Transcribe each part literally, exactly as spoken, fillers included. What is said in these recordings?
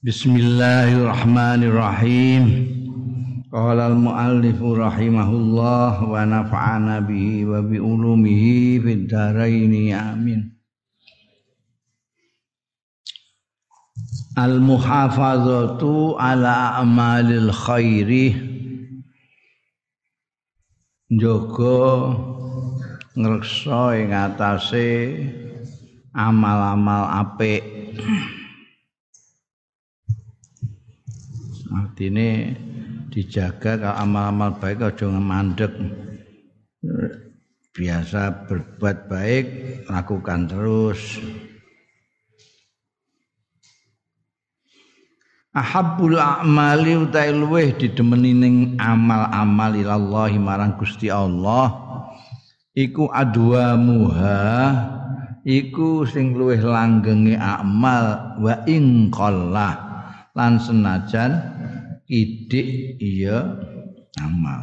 Bismillahirrahmanirrahim. Qala al-muallif rahimahullah wa nafa'ana bihi wa bi ulumihi fid dharain amin. Al-muhafazatu ala amalil khairi, njaga ngreksa ing atase amal-amal apik. Artine dijaga kalau amal-amal baik aja mandek. Biasa berbuat baik, lakukan terus. Ahabbul a'mali utai luweh didemeni ning amal-amal ilallahi marang Gusti Allah iku adwa muha, iku sing luweh langgenge amal wa ing qallah, lan senajan idik iya amal.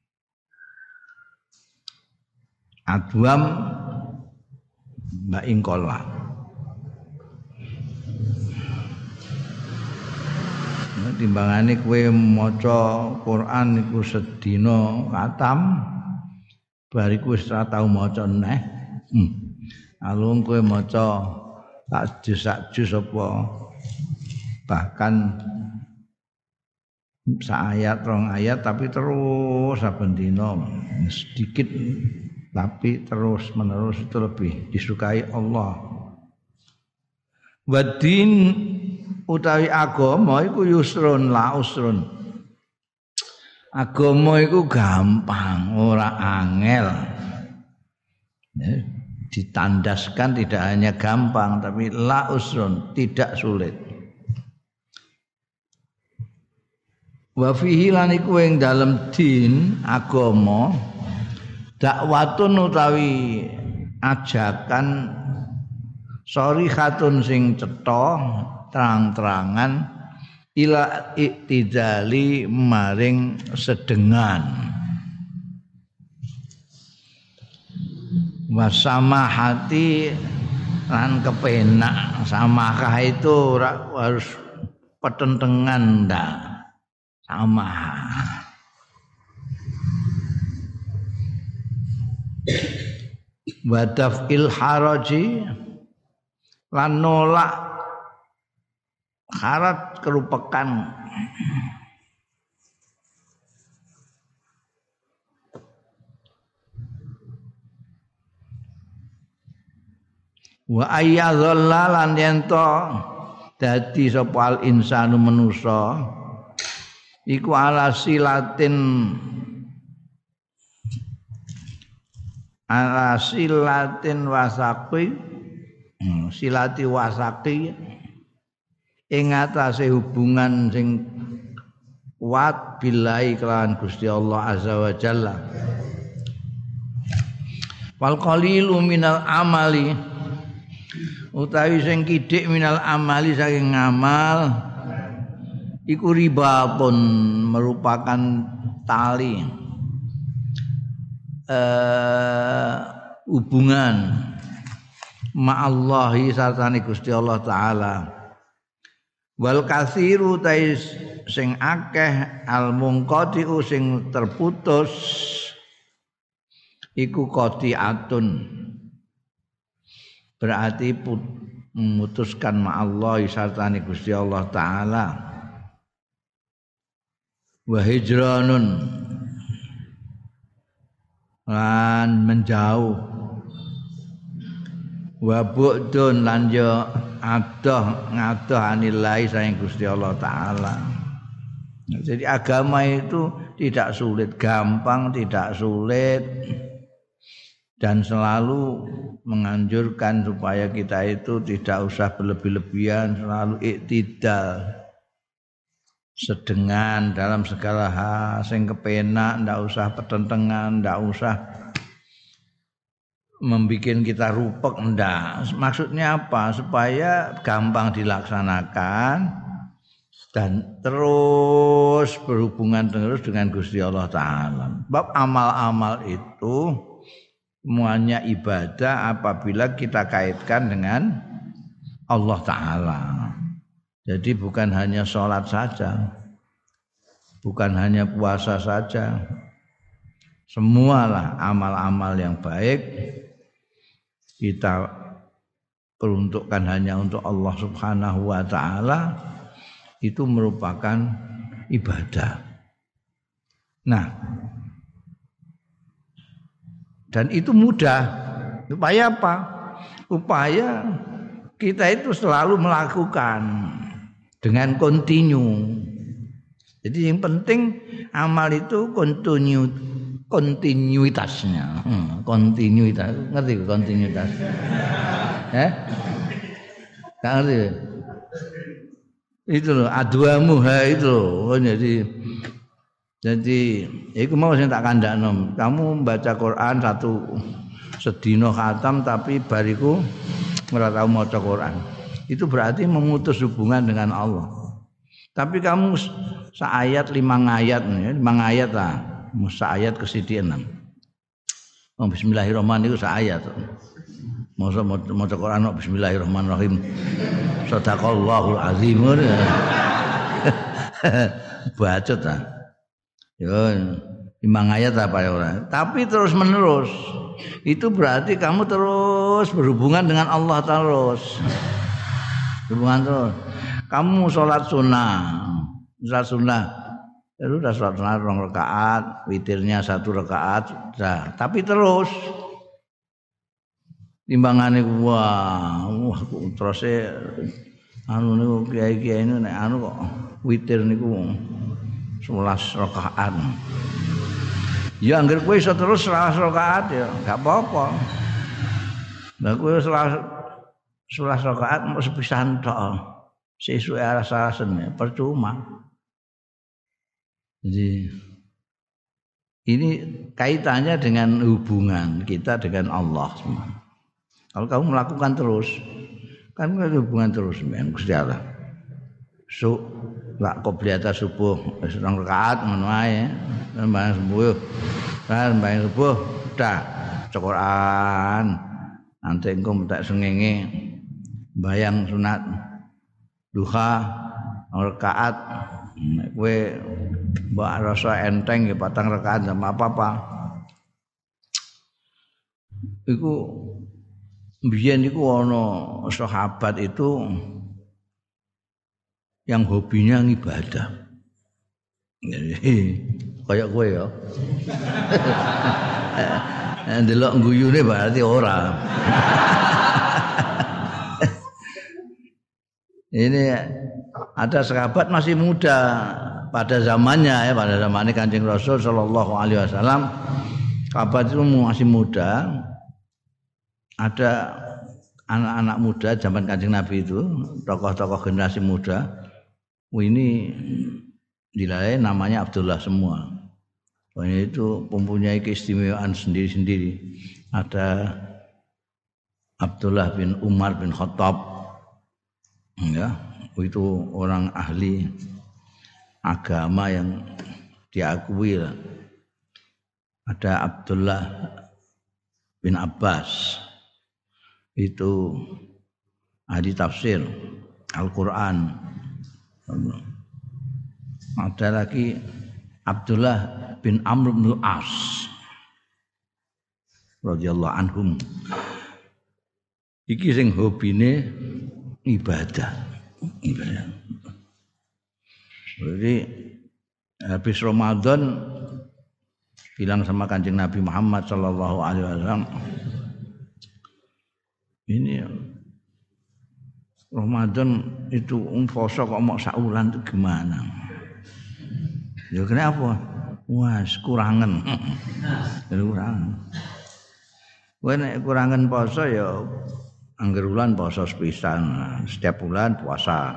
Adwam wa ing qallah, timbangane kowe maca Quran iku sedina khatam, bariku wis ora tau maca neh. Hmm. Alung kowe maca sak juz sak juz apa bahkan sak ayat rong ayat tapi terus saben dina sedikit tapi terus menerus itu lebih disukai Allah. Wadin utawi agama iku yusrun la usrun. Agama iku gampang, ora angel. Ya, ditandaskan tidak hanya gampang tapi la usrun, tidak sulit. Wa fihi lan iku ing dalem din agama dakwatun utawi ajakan sharihatun sing cetha terang-terangan ila iktidali maring sedengan wasamahati lan kepenak. Samakah itu harus petentengan ndak, sama wadafil haraji lan nolak harat kerupekan. Wa ayyadhalla lan yento dadi sapa al insanu manusa iku ala silatin ala silatin wasaqi silati wasaqi ing atase hubungan sing kuat billahi kelawan Gusti Allah azza wa jalla. Wal qalilu minal amali utawi sing kidik minal amali saking ngamal iku ribatun merupakan tali eh, hubungan ma'allahi sartane Gusti Allah taala. Wal katsiru tais sing akeh al munqadi'u sing terputus iku qati'atun, berarti put, memutuskan ma'allahi sartane Gusti Allah taala. Wa hijranun lan menjauh, wa bu'dun lan yo adoh ngadoh anillahi sayang Gusti Allah taala. Jadi agama itu tidak sulit, gampang, tidak sulit, dan selalu menganjurkan supaya kita itu tidak usah berlebih-lebihan, selalu iktidal, sedengan dalam segala hal, sing kepenak, ndak usah petentengan, ndak usah membikin kita rupek, ndak. Maksudnya apa? Supaya gampang dilaksanakan dan terus berhubungan terus dengan Gusti Allah taala. Bab amal-amal itu semuanya ibadah apabila kita kaitkan dengan Allah taala. Jadi bukan hanya sholat saja, bukan hanya puasa saja, semualah amal-amal yang baik kita peruntukkan hanya untuk Allah Subhanahu wa taala, itu merupakan ibadah. Nah, dan itu mudah. Upaya apa? Upaya kita itu selalu melakukan dengan kontinu. Jadi yang penting amal itu kontinu, kontinuitasnya. Hmm, kontinuitas. Ngerti kontinuitas? Eh? Nggak ngerti? Itu loh, adwamu ha itu loh. Jadi jadi itu mau sing tak kandakno. Kamu baca Quran satu sedina khatam tapi bariku ora tau maca Quran. Itu berarti memutus hubungan dengan Allah. Tapi kamu seayat lima ayat ya, lima ayat lah. Seayat ke sidi enam. Oh, bismillahirrahmanirrahim itu seayat. Masa maca Quran bismillahirrahmanirrahim. Shadaqallahul azim. Bacot ah. Yo lima ayat apa ya orang. Tapi terus menerus. Itu berarti kamu terus berhubungan dengan Allah terus. Hubungan terus. Kamu sholat sunnah. Sholat sunnah. Itu udah sholat sunnah dua rakaat, witirnya satu rakaat, dah. Tapi terus timbangane wah, wah terus e anu niku kiai-kiai niku nek anu kok witir niku sebelas rakaat. Ya anggere kowe iso terus sebelas rakaat ya enggak apa-apa. Lah kowe sebelas rakaat mau sepisan tok. Sesuai alasan percuma. Jadi ini kaitannya dengan hubungan kita dengan Allah. Kalau kamu melakukan terus, kan ada hubungan terus dengan Gusti Allah. So, lak qobliyata subuh wis rong rakaat ngono ae, sembahyang subuh. Kan sembahyang subuh udah Quran. Nanti engko tak sengenge bayang sunat duha rakaat. Nek kowe mbok rasa enteng ya patang rakaat sama apa-apa. Iku mbiyen iku ana sahabat itu yang hobinya ngibadah. Kayak kowe ya. Ndelok guyune berarti ora. Ini ada sahabat masih muda pada zamannya ya, pada zamannya Kanjeng Rasul sallallahu alaihi wasallam. Sahabat itu masih muda. Ada anak-anak muda zaman Kanjeng Nabi itu, tokoh-tokoh generasi muda. Ini dilalai namanya Abdullah semua. Ini itu mempunyai keistimewaan sendiri-sendiri. Ada Abdullah bin Umar bin Khattab. Ya, itu orang ahli agama yang diakui lah. Ada Abdullah bin Abbas, itu ahli tafsir Al-Quran. Ada lagi Abdullah bin Amr bin As radhiyallahu anhum. Iki sing hobine ibadah. Ibadah. Jadi habis Ramadan bilang sama Kanjeng Nabi Muhammad sallallahu alaihi wasallam, ini Ramadan itu umposo kok mau saulan itu gimana? Ya kenapa? Wah, kurangan. Kurangan. Kowe nek kurangan poso ya angger bulan poso sepisan, setiap bulan puasa.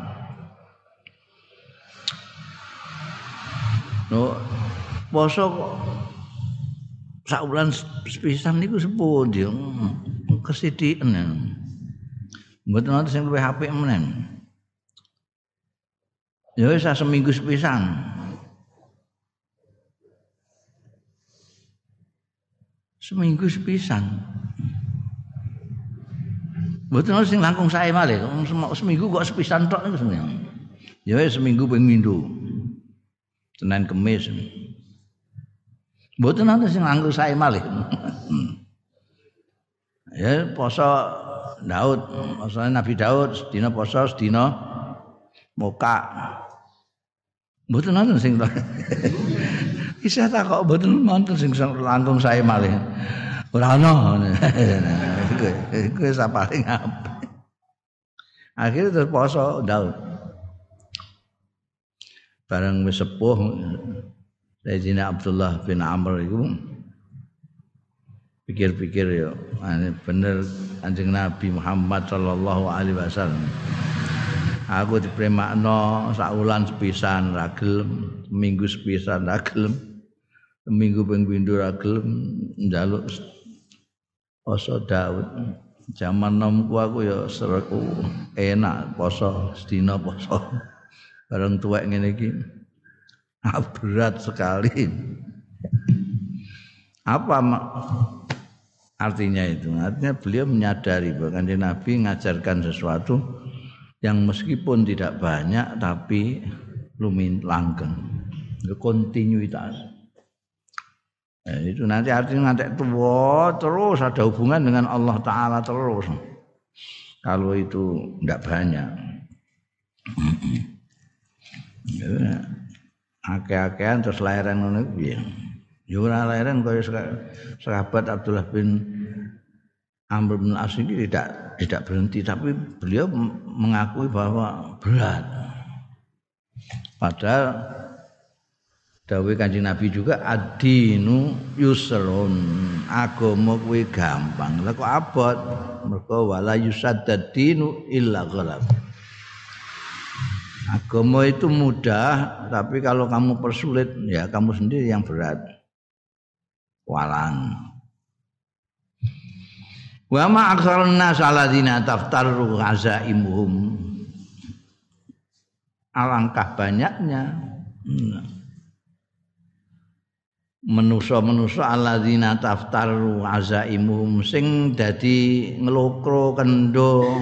No, poso kok sak bulan sepisan niku sepundi? Kesidhiken. Mboten wonten sing luwih apik menen. Ya wis seminggu sepisan. Seminggu sepisan. Mboten wonten sing langkung sae malih, seminggu kok sepisan tok niku seneng. Ya seminggu ping pindho. Senin Kamis. Mboten ana sing nganggo sae malih. Ya poso Daud, poso Nabi Daud sedina poso sedina moka. Mboten ana sing isih tak kok mboten wonten sing langkung sae malih. Ora ana. Iku wis paling apik. Akhire terus poso Daud. Bareng wis sepuh Sayyidina Abdullah bin Amr iku pikir-pikir ya bener Kanjeng Nabi Muhammad sallallahu alaihi wasallam. Aku dipremakno saulan sepisan ra gelem, minggu sepisan ra gelem, minggu ping pindho ra gelem njaluk poso Daud. Zaman nomku aku ya sereku enak poso sedina poso. Bareng tuwek ngene iki berat sekali. Apa artinya itu? Artinya beliau menyadari bahwa Kanjeng Nabi mengajarkan sesuatu yang meskipun tidak banyak tapi lumin langgeng. Kontinuitas. Nah, itu nanti artinya nanti tua terus ada hubungan dengan Allah Ta'ala terus. Kalau itu tidak banyak. Ya, akeh-akehan terus lahiran ngono piye. Ya ora lahiran kaya sahabat Abdullah bin Amr bin As ini tidak tidak berhenti tapi beliau mengakui bahwa berat. Padahal dawuh Kanjeng Nabi juga ad-dinu yusrun, agama kuwi gampang. Lah kok abot? Mergo wala yusaddad dinu illa ghalab. Agama itu mudah, tapi kalau kamu persulit, ya kamu sendiri yang berat. Walan. Wa ma aktsarun nas alladzina taftaru azaimuhum. Alangkah banyaknya manusa-manusa alladzina taftaru azaimuhum sing dadi nglokro kendho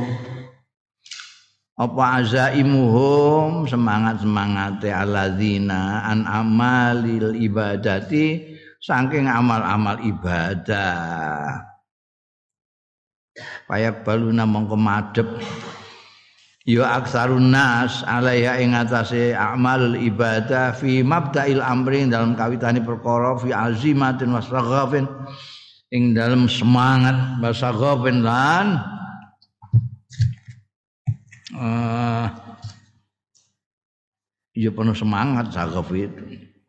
apa azaimuhum semangat-semangate alladzina an amalil ibadati saking amal-amal ibadah payak baluna mongko madhep ya aksarun nas alaiha ing atase amalul ibadah fi mabda'il amri dalam kawitane perkara fi azimatin wasaghafin ing dalam semangat wasaghafin lan Uh, ya penuh semangat saghaf itu.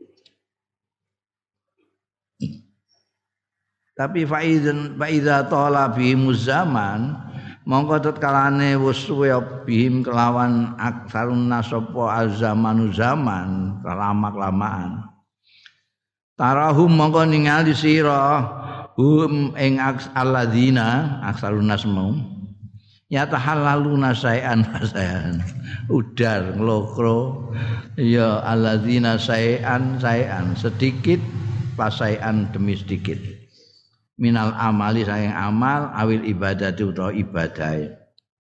Tapi faizan faiza tala bihimuz zaman mongko tetkalane wis suwe bihim kelawan aksarun nasapa azamanu zaman lama-lamaan. Tarahum mongko ningali sira hum ing alladzina aksarun nasmau ya tahallaluna sayan sayan udar nglokro ya alladzina sayan sayan sedikit pasayan demi sedikit minal amali sayang amal awil ibadati utawa ibadah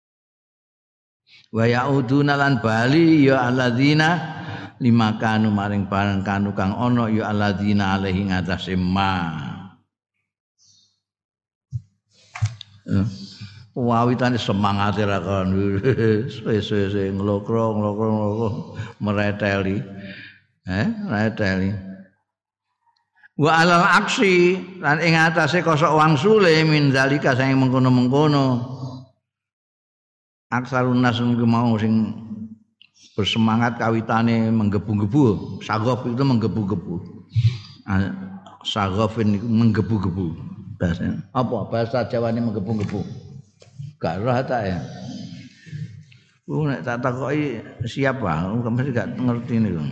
wa yauduna lan bali ya alladzina lima kanu maring barang kanu kang ana ya alladzina alaihi ngatasé ma wawitane semangat ra kon wis-wis nglokro nglokro nglokro mereteli eh mereteli wa alal aksi lan ing atase kosok wangsule min zalika sing mengkono-mengkono aksarun nas niku mau sing bersemangat kawitane menggebu-gebu saghaf itu menggebu-gebu saghafin niku menggebu-gebu bahasa apa bahasa Jawane menggebu-gebu gak roh tak ya. Ku nek tak takoki siapa, mesti gak ngerti niku.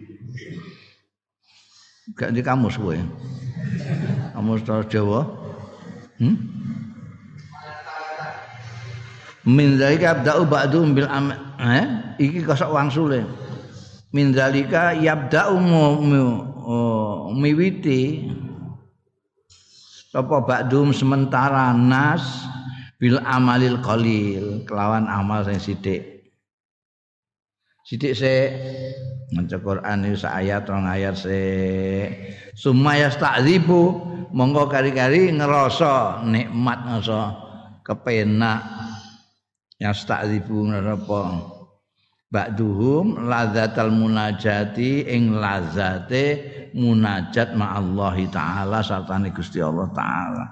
Gak di kamus kowe. Kamus Jawa. Hmm? Min zalika abda'u ba'dhum bil am eh iki kosok wangsule. Min zalika yabda'u miwiti apa ba'dhum sementara nas bil amalil qalil kelawan amal sing sithik Sithik sik maca Quran iki sak ayat rong ayat sik. Sumaya ta'dzibu monggo kari-kari ngerasa nikmat ngerasa kepenak. Yasta'dzibu napa? Ba'duhum ladzatal munajati ing lazate munajat ma'allahi ta'ala sartane Gusti Allah taala.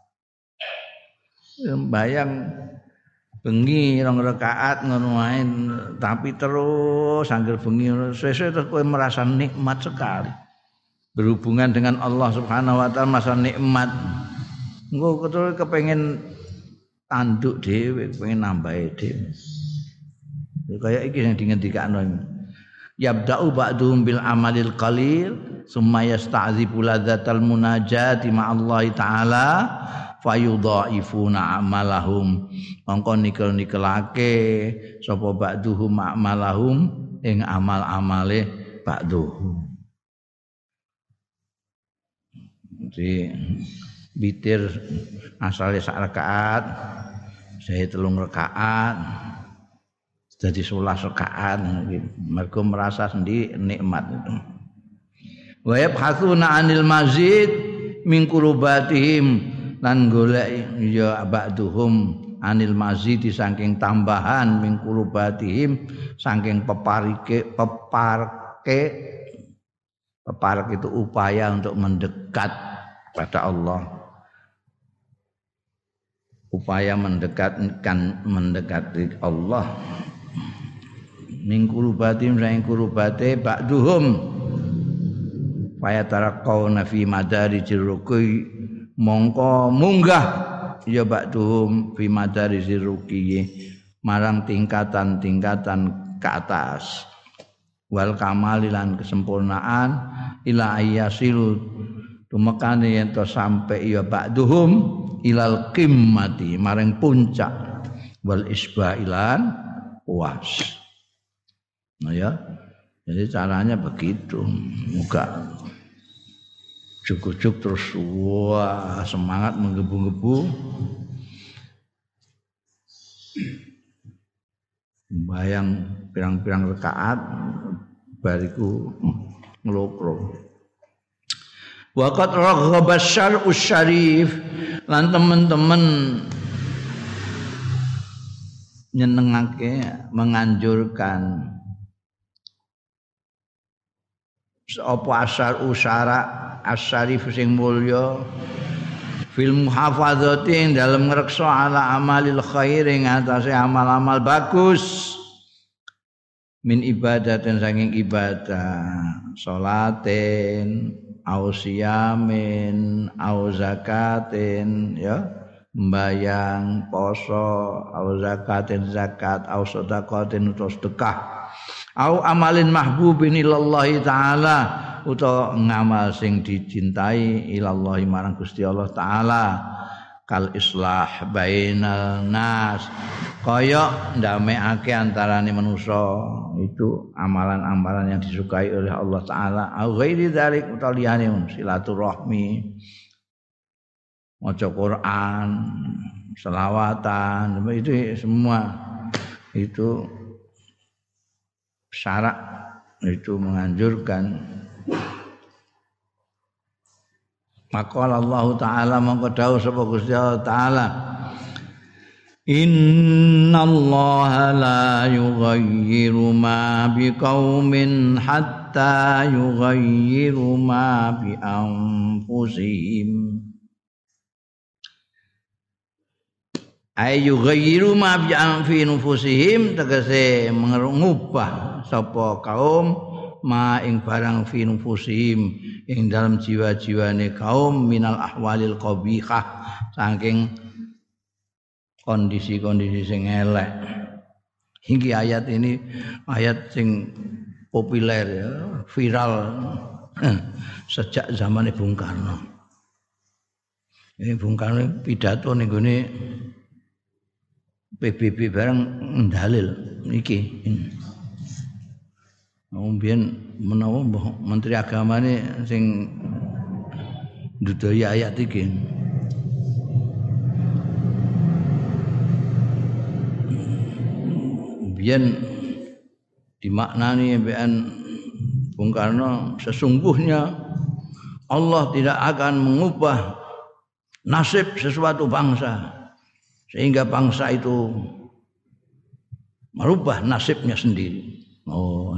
Bayang bengi rong rakaat ngono wae tapi terus angger bengi sesuk terus kowe merasa nikmat sekali berhubungan dengan Allah Subhanahu wa taala merasa nikmat engko terus kepengin tanduk dhewe kepengin nambahi dhewe kaya iki sing dingendikakno yabda'u ba'duhum bil amalil qalil summa yasta'dzibu ladzatal munajati ma'allahi ta'ala fayudhaifuna amalahum mongko nikel-nikelake sapa ba'duhum amalahum ing amal-amale ba'duhum. Jadi witir asale sak rakaat saya telung rakaat jadi sebelas rakaat mergo merasa sendiri nikmat itu. Wa yabhatsuna 'anil mazid min qurubatihim lan golek ya ba'duhum anil mazid saking tambahan min qurubatihim saking peparike peparke peparke itu upaya untuk mendekat pada Allah upaya mendekatkan mendekati Allah min qurubatihim saking qurubate ba'duhum fayatarakkauna fi madarijir ruqi mongko munggah ya ba'duhum fi madarizir ruqi marang tingkatan-tingkatan ke atas wal kamalilan kesempurnaan ila ayyasilu tumekane yen to sampe ya ba'duhum ilal qimmati marang puncak wal isbailan puas. Nah ya jadi caranya begitu muka cukup-cukup terus wah semangat menggebu-gebu bayang pirang-pirang rakaat bariku ngelokro waqat raghaba syar'us syarif lan teman-teman nyenengake menganjurkan apa asar usara asyarif sing mulya fil muhafadzati ing dalem ngreksa ala amalil khair ing atase amal-amal bagus min ibadatin saking ibadah salatin au siyamin au zakatin ya mbayang poso au zakatin zakat au sedekatin utawa sedekah au amalin mahbubin ilallahi ta'ala utawa ngamal sing dicintai ilallahi marang Gusti Allah taala kal islah bainal nas kaya ndamekake antarane manusa itu amalan-amalan yang disukai oleh Allah taala au ghairi dzalik utawa liyane silaturahmi maca Quran selawatan itu semua itu syarak itu menganjurkan maqala Allah taala mongko dawuh sapa Gusti Allah taala innallaha la yughayyiru ma biqaumin hatta yughayyiru ma bi anfusihim ayu ghayyiru ma bi anfusihim tegese mengubah sapa kaum ma ing barang fi nufusihim ing dalam jiwa-jiwane kaum minal ahwalil qabihah saking kondisi-kondisi sing elek. Iki ayat ini ayat sing populer ya, viral sejak zaman Bung Karno. Ini Bung Karno pidato ning gone P B B bareng ndalil iki. Mbiyen menawa Menteri Agamane sing ndudaya ayat iki. Mbiyen dimaknani mbekan Bung Karno, sesungguhnya Allah tidak akan mengubah nasib sesuatu bangsa sehingga bangsa itu merubah nasibnya sendiri. Oh.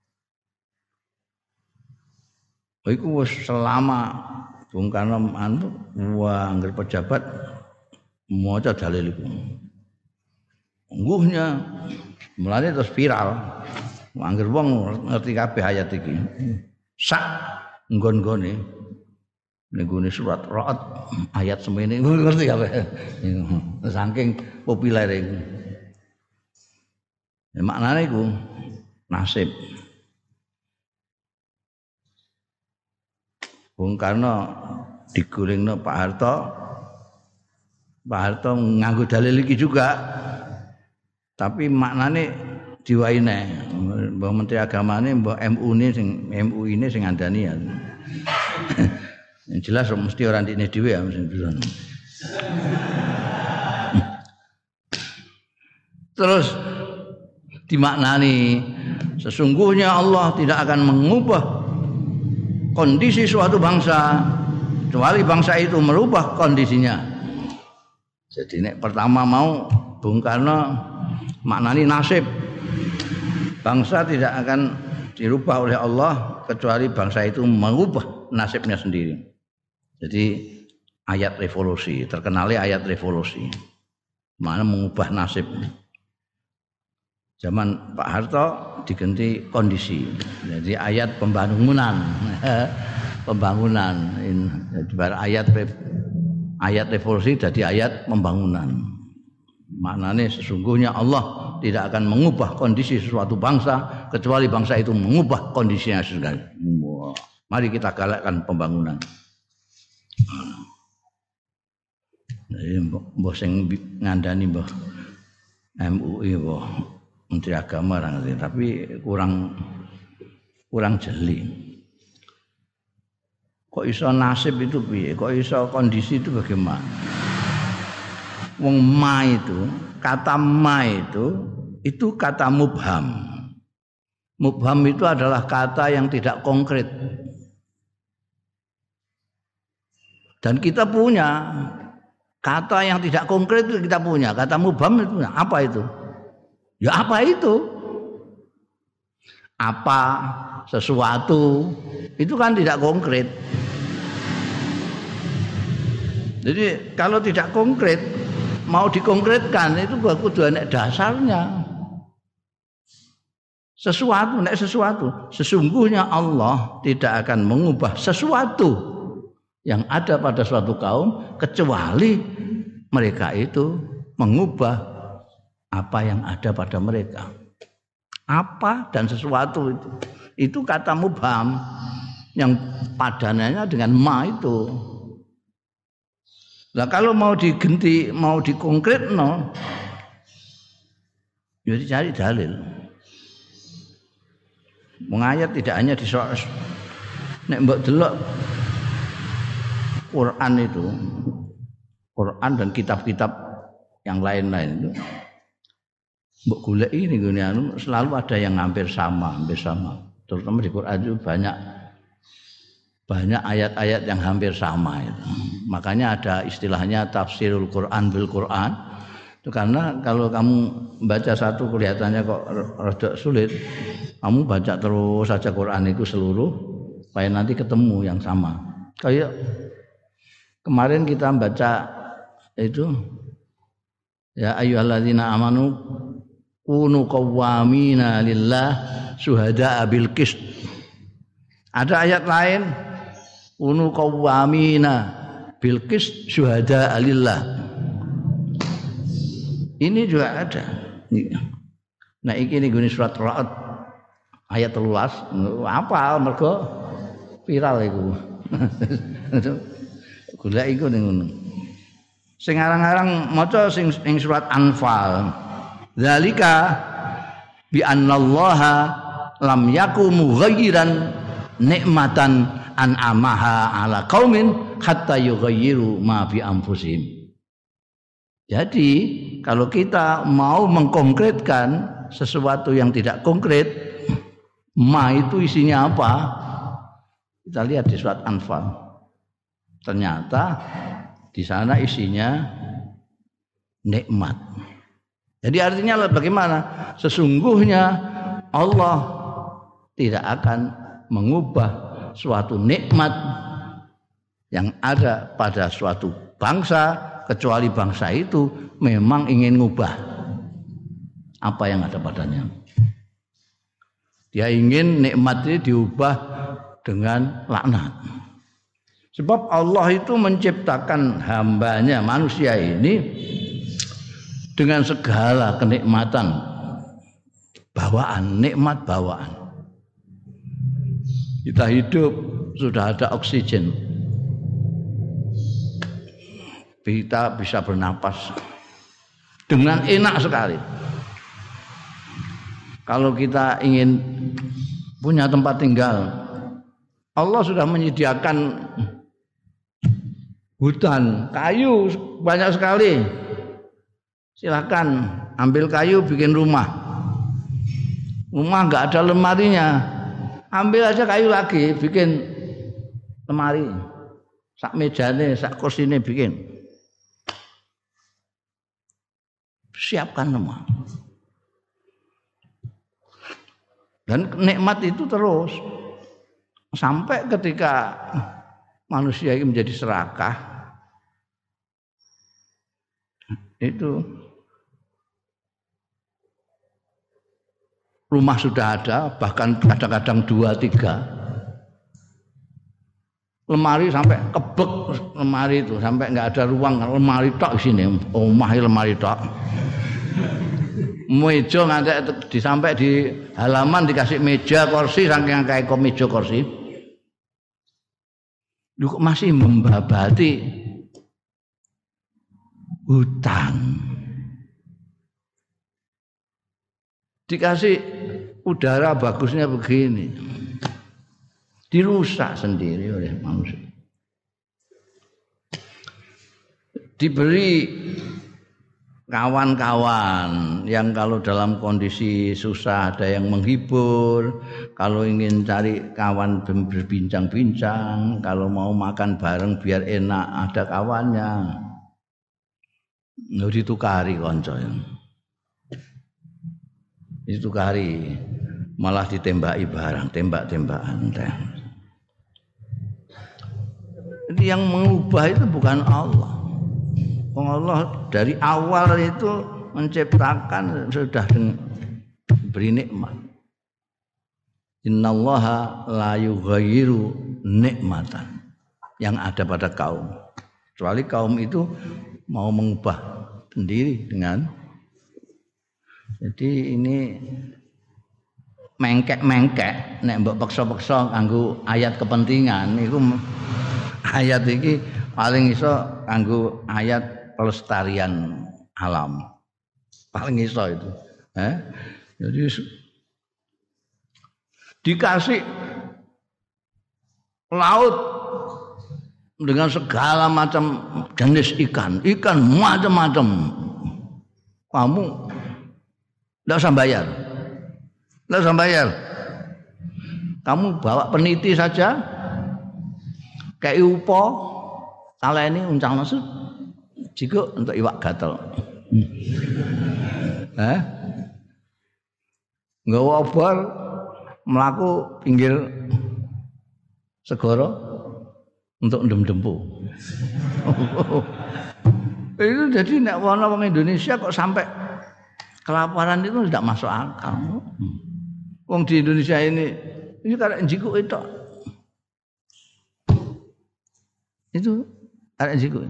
Iku wis selama Bung Karno anu wah anggere pejabat maca dalil iku. Ngguhnya mulane terus viral. Anggere wong ngerti kabeh ayat iki. Sak nggon-nggone ning surat Ra'd ayat semene ngerti kabeh. Saking populere iku. Ya, maknane iku nasib. Bung Karno digulingno Pak Harto. Pak Harto nganggo dalil iki juga. Tapi maknane diwaine. Mbah Menteri Agamane mbah M U ne sing M U ini sing ngandani ya. Yang jelas mesti orang dine dhewe ya sing bisa. Terus dimaknani sesungguhnya Allah tidak akan mengubah kondisi suatu bangsa kecuali bangsa itu merubah kondisinya. Jadi nek pertama mau Bung Karno maknani nasib bangsa tidak akan dirubah oleh Allah kecuali bangsa itu mengubah nasibnya sendiri. Jadi ayat revolusi, terkenalnya ayat revolusi. Mana mengubah nasib. Zaman Pak Harto diganti kondisi. Jadi ayat pembangunan. Pembangunan. Jadi ayat ayat revolusi jadi ayat pembangunan. Maknanya sesungguhnya Allah tidak akan mengubah kondisi suatu bangsa kecuali bangsa itu mengubah kondisinya sendiri. Wah. Mari kita galakkan pembangunan. Jadi mbah sing ngandani mbah M U I mbah Menteri Agama ngerti, tapi kurang kurang jeli. Kok iso nasib itu piye? Kok iso kondisi itu bagaimana? Wong ma itu, kata ma itu itu kata mubham. Mubham itu adalah kata yang tidak konkret. Dan kita punya kata yang tidak konkret itu kita punya. Kata mubham itu apa itu? Ya apa itu? Apa sesuatu itu kan tidak konkret. Jadi kalau tidak konkret mau dikonkretkan itu kudu ana dasarnya. Sesuatu, nek sesuatu. Sesungguhnya Allah tidak akan mengubah sesuatu yang ada pada suatu kaum kecuali mereka itu mengubah apa yang ada pada mereka. Apa dan sesuatu itu. Itu kata mubham yang padanannya dengan ma itu. Nah kalau mau digenti, mau dikonkret no, jadi cari dalil. Mengayat tidak hanya di soal nek mbok delok Quran itu, Quran dan kitab-kitab yang lain-lain itu, mbok golek ini gini anu selalu ada yang hampir sama, hampir sama. Terutama di Quran itu banyak banyak ayat-ayat yang hampir sama itu. Makanya ada istilahnya tafsirul Quran bil Quran. Itu karena kalau kamu baca satu kelihatannya kok rada sulit, kamu baca terus saja Quran itu seluruh supaya nanti ketemu yang sama. Kayak kemarin kita baca itu ya ayyuhalladzina amanu kunu qawwamina lillah syuhada'a bil qist. Ada ayat lain kunu qawwamina bil qist syuhada'a lillah. Ini juga ada. Nah iki ning surat Ra'd ayat telulas apa mergo viral iku. Golek iku ning ngono. Sing arang-arang maca sing ing surat Anfal. Zalika bi annallaha lam yakum mughayyiran nikmatan an'amaha ala qaumin hatta yughayyiru ma bi anfusihim. Jadi kalau kita mau mengkonkretkan sesuatu yang tidak konkret, Ma itu isinya apa? Kita lihat di surat Anfal. Ternyata di sana isinya nikmat. Jadi artinya bagaimana? Sesungguhnya Allah tidak akan mengubah suatu nikmat yang ada pada suatu bangsa kecuali bangsa itu memang ingin mengubah apa yang ada padanya. Dia ingin nikmat ini diubah dengan laknat. Sebab Allah itu menciptakan hambanya manusia ini dengan segala kenikmatan bawaan, nikmat bawaan. Kita hidup sudah ada oksigen. Kita bisa bernapas dengan enak sekali. Kalau kita ingin punya tempat tinggal, Allah sudah menyediakan hutan, kayu banyak sekali. Silakan ambil kayu bikin rumah. Rumah nggak ada lemarinya, ambil aja kayu lagi bikin lemari. Sak mejane, sak kursine bikin. Siapkan semua. Dan nikmat itu terus sampai ketika manusia ini menjadi serakah, itu rumah sudah ada, bahkan kadang-kadang dua tiga, lemari sampai kebek lemari itu sampai nggak ada ruang, lemari tok di sini, omah lemari tok. Meja ngantek disampai di halaman dikasih meja kursi saking kayak meja kursi. Lu masih membabati hutan. Dikasih udara bagusnya begini. Dirusak sendiri oleh manusia. Diberi kawan-kawan yang kalau dalam kondisi susah ada yang menghibur, kalau ingin cari kawan berbincang-bincang, kalau mau makan bareng biar enak ada kawannya. Nggak ditukari konco. Ditukari malah ditembaki barang, tembak-tembakan. Jadi yang mengubah itu bukan Allah. Allah dari awal itu menciptakan sudah beri nikmat. Innallaha la yughayyiru nikmatan yang ada pada kaum. Kecuali kaum itu mau mengubah sendiri dengan. Jadi ini mengkek-mengkek nek mbok paksa-paksa kanggo ayat kepentingan niku ayat iki paling iso kanggo ayat pelestarian alam. Paling iso itu. Eh? Jadi dikasih laut dengan segala macam jenis ikan, ikan macam-macam. Kamu enggak usah bayar. Enggak usah bayar. Kamu bawa peniti saja. Kayak upo, kala ini uncang maksud jika untuk iwak gatel. Eh? Nggawa obor mlaku pinggir segara untuk ndem-dempu. Itu jadi nek ana wong Indonesia kok sampai kelaparan itu tidak masuk akal. Wong di Indonesia ini ini karek njikuk itu. Itu karek njikuk.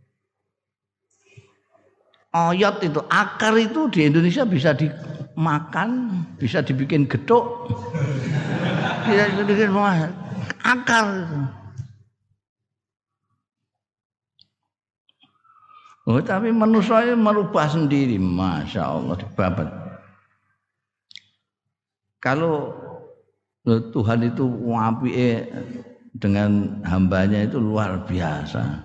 Oyot itu, akar itu di Indonesia bisa dimakan, bisa dibikin gethuk. Bisa dibikin semua. Akar itu. Oh, tapi manusia merubah sendiri, masya Allah dibabat. Kalau Tuhan itu apike dengan hambanya itu luar biasa.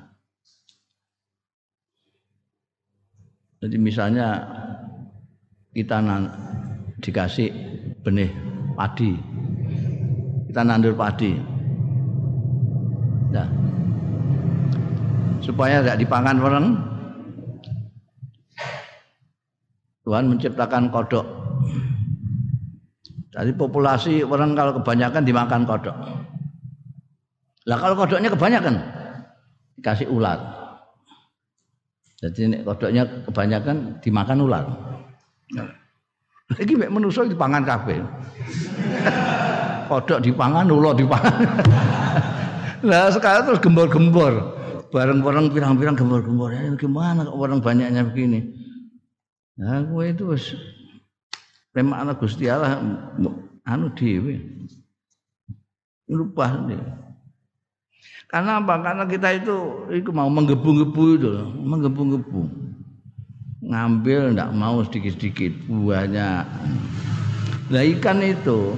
Jadi misalnya kita dikasih benih padi. Kita nandur padi. Nah, supaya tidak dipangan orang, Tuhan menciptakan kodok. Jadi populasi orang kalau kebanyakan dimakan kodok. Lah kalau kodoknya kebanyakan dikasih ular. Jadi kodoknya kebanyakan dimakan ular. Iki mek manusa dipangan kabeh. Kodok dipangan, ular dipangan. Lah sekarang terus gembor-gembor. Bareng-bareng pirang-pirang gembor-gembor. Ya, gimana kok orang banyaknya begini? Nah, kowe itu wis memang anak Gusti Allah anu dhewe. Lupa nih. Karena apa? Karena kita itu itu mau menggebu-gebu itu, menggebu-gebu. Ngambil enggak mau sedikit-sedikit buahnya. Lah ikan itu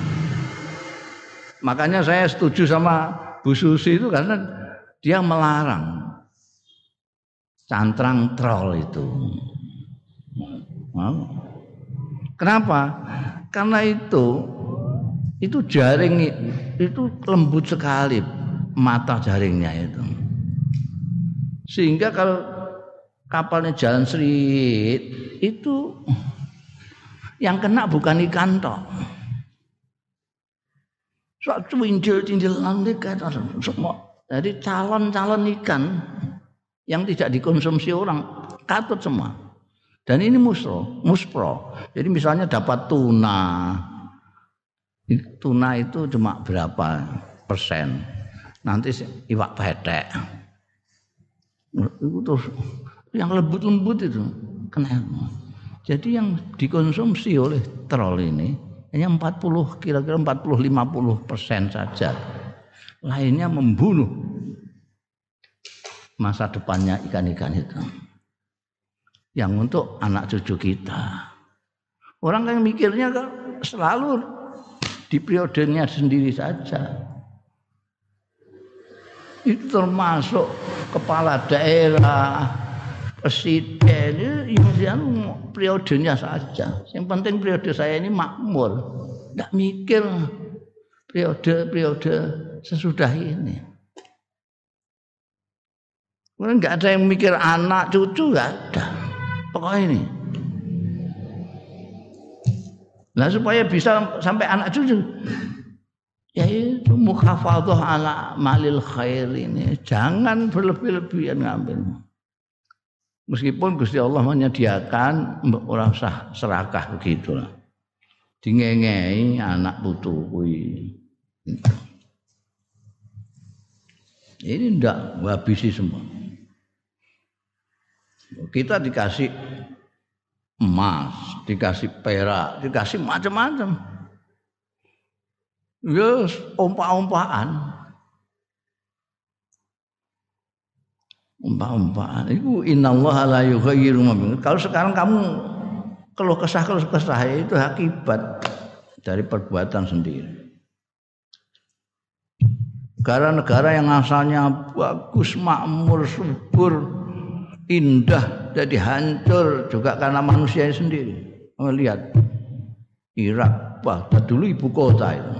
makanya saya setuju sama Bu Susi itu karena dia melarang cantrang trol itu. Kenapa? Karena itu itu jaring itu lembut sekali mata jaringnya itu. Sehingga kalau kapalnya jalan serit itu yang kena bukan ikan tok. Suatu cincil-cincil landik semua. Jadi calon-calon ikan yang tidak dikonsumsi orang katut semua. Dan ini muspro, muspro. Jadi misalnya dapat tuna, tuna itu cuma berapa persen. Nanti iwak petek. Itu terus yang lembut-lembut itu kena. Jadi yang dikonsumsi oleh trol ini hanya empat puluh kira-kira empat puluh lima puluh persen saja. Lainnya membunuh masa depannya ikan-ikan itu. Yang untuk anak cucu kita. Orang yang mikirnya kan selalu di periodenya sendiri saja. Itu termasuk kepala daerah, presiden, yang periodenya saja. Yang penting periode saya ini makmur. Tidak mikir periode-periode sesudah ini. Kemudian nggak ada yang mikir anak cucu, nggak ada. Pokoknya ini. Nah supaya bisa sampai anak cucu, yaitu mukhafadhah ala malil khair ini. Jangan berlebih-lebihan ngambil. Meskipun Gusti Allah menyediakan orang sah serakah begitulah. Dingengei anak putu kuwi. Ini ndak habisi semua. Kita dikasih emas, dikasih perak, dikasih macam-macam. Yes, ompak-ompakan. Ompak-ompakan. Itu innallaha la yughayyiru ma biqaumin. Kalau sekarang kamu keluh kesah keluh kesah itu akibat dari perbuatan sendiri. Negara-negara yang asalnya bagus, makmur, subur, indah jadi hancur juga karena manusia sendiri. Melihat Irak, Baghdad dulu ibu kota itu.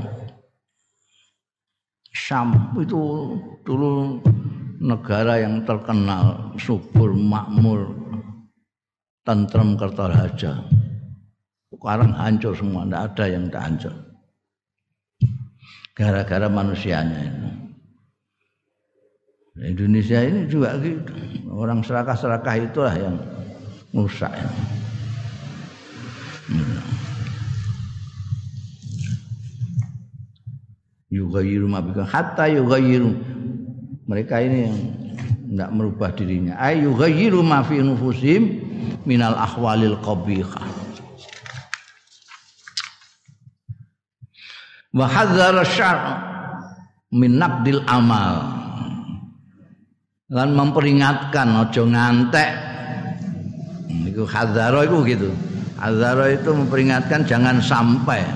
Syam itu dulu negara yang terkenal subur, makmur, tentrem, kertaraja. Sekarang hancur semua, tidak ada yang tidak hancur. Gara-gara manusianya itu. Indonesia ini juga gitu. Orang serakah-serakah itulah yang merusak. Yughayyiru ma biqaumin hatta yughayyiru. Mereka ini yang tidak merubah dirinya. Ay yughayyiru ma fi nufusihim minal ahwalil qabihah. Wa hadzara syar'a min naqdil amal. Lan memperingatkan aja ngantek. Iku hadzara iku gitu. Hadzara itu memperingatkan jangan sampai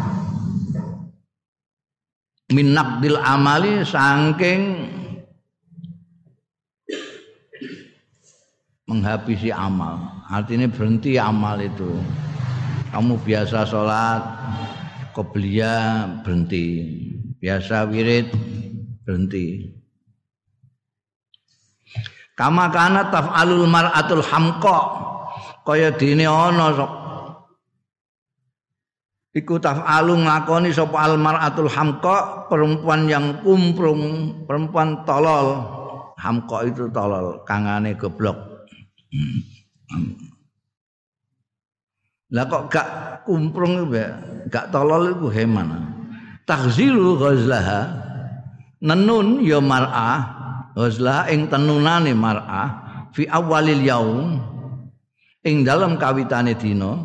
min naqdil amali saking menghabisi amal. Artinya berhenti amal itu. Kamu biasa sholat qobliyah berhenti, biasa wirid berhenti. Kama kana taf'alul mar'atul hamqa, kaya dene ana iku taf'alu nglakoni sapa al mar'atul hamqa, perempuan yang kumprung, perempuan tolol. Hamqa itu tolol, kangane goblok. Lah kok gak kumprung iku gak tolol iku gimana? Taghzilu ghazlaha, nenun ya mar'ah ghazlaha ing tenunane mar'ah fi awalil yaum ing dalam kawitane dina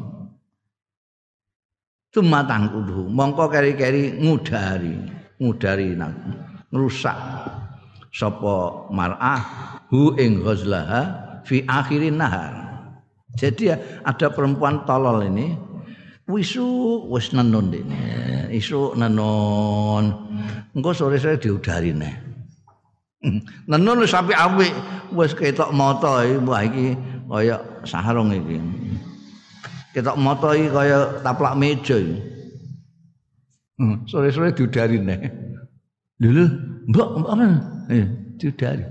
tumatang kudu mongko keri-keri ngudari ngudari ngrusak sapa mar'ah hu ing ghazlaha fi akhirin nahar. Jadi ada perempuan tolol ini wisu wis nenun dene isuk nenun engko sore-sore diudari neh nenun wis apik-apik wis ketok mata iki wah iki kaya sarung iki ketok mata iki kaya taplak meja iki sore-sore diudari neh lho mbok mbok eh diudari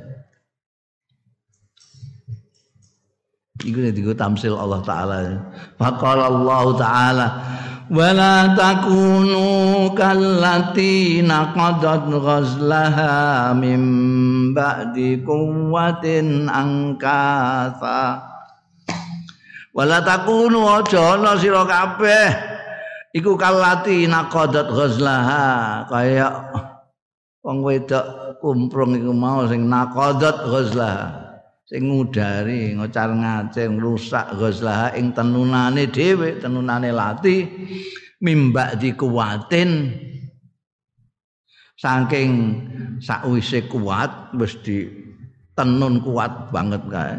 iku digo tamsil Allah taala. Faqala Allah taala wala takunu kallati naqadat ghazlaha mim ba'di quwwatin angkasa. Wala takunu aja ana sira kabeh iku kallati naqadat ghazlaha kaya wong wedok kumprung iku mau sing naqadat ghazlaha sing ngudari ngocar ngaceng rusak ghazlaha ing tenunane dhewe tenunane lati mimba dikuwatin saking sakwise kuat wis di tenun kuat banget kae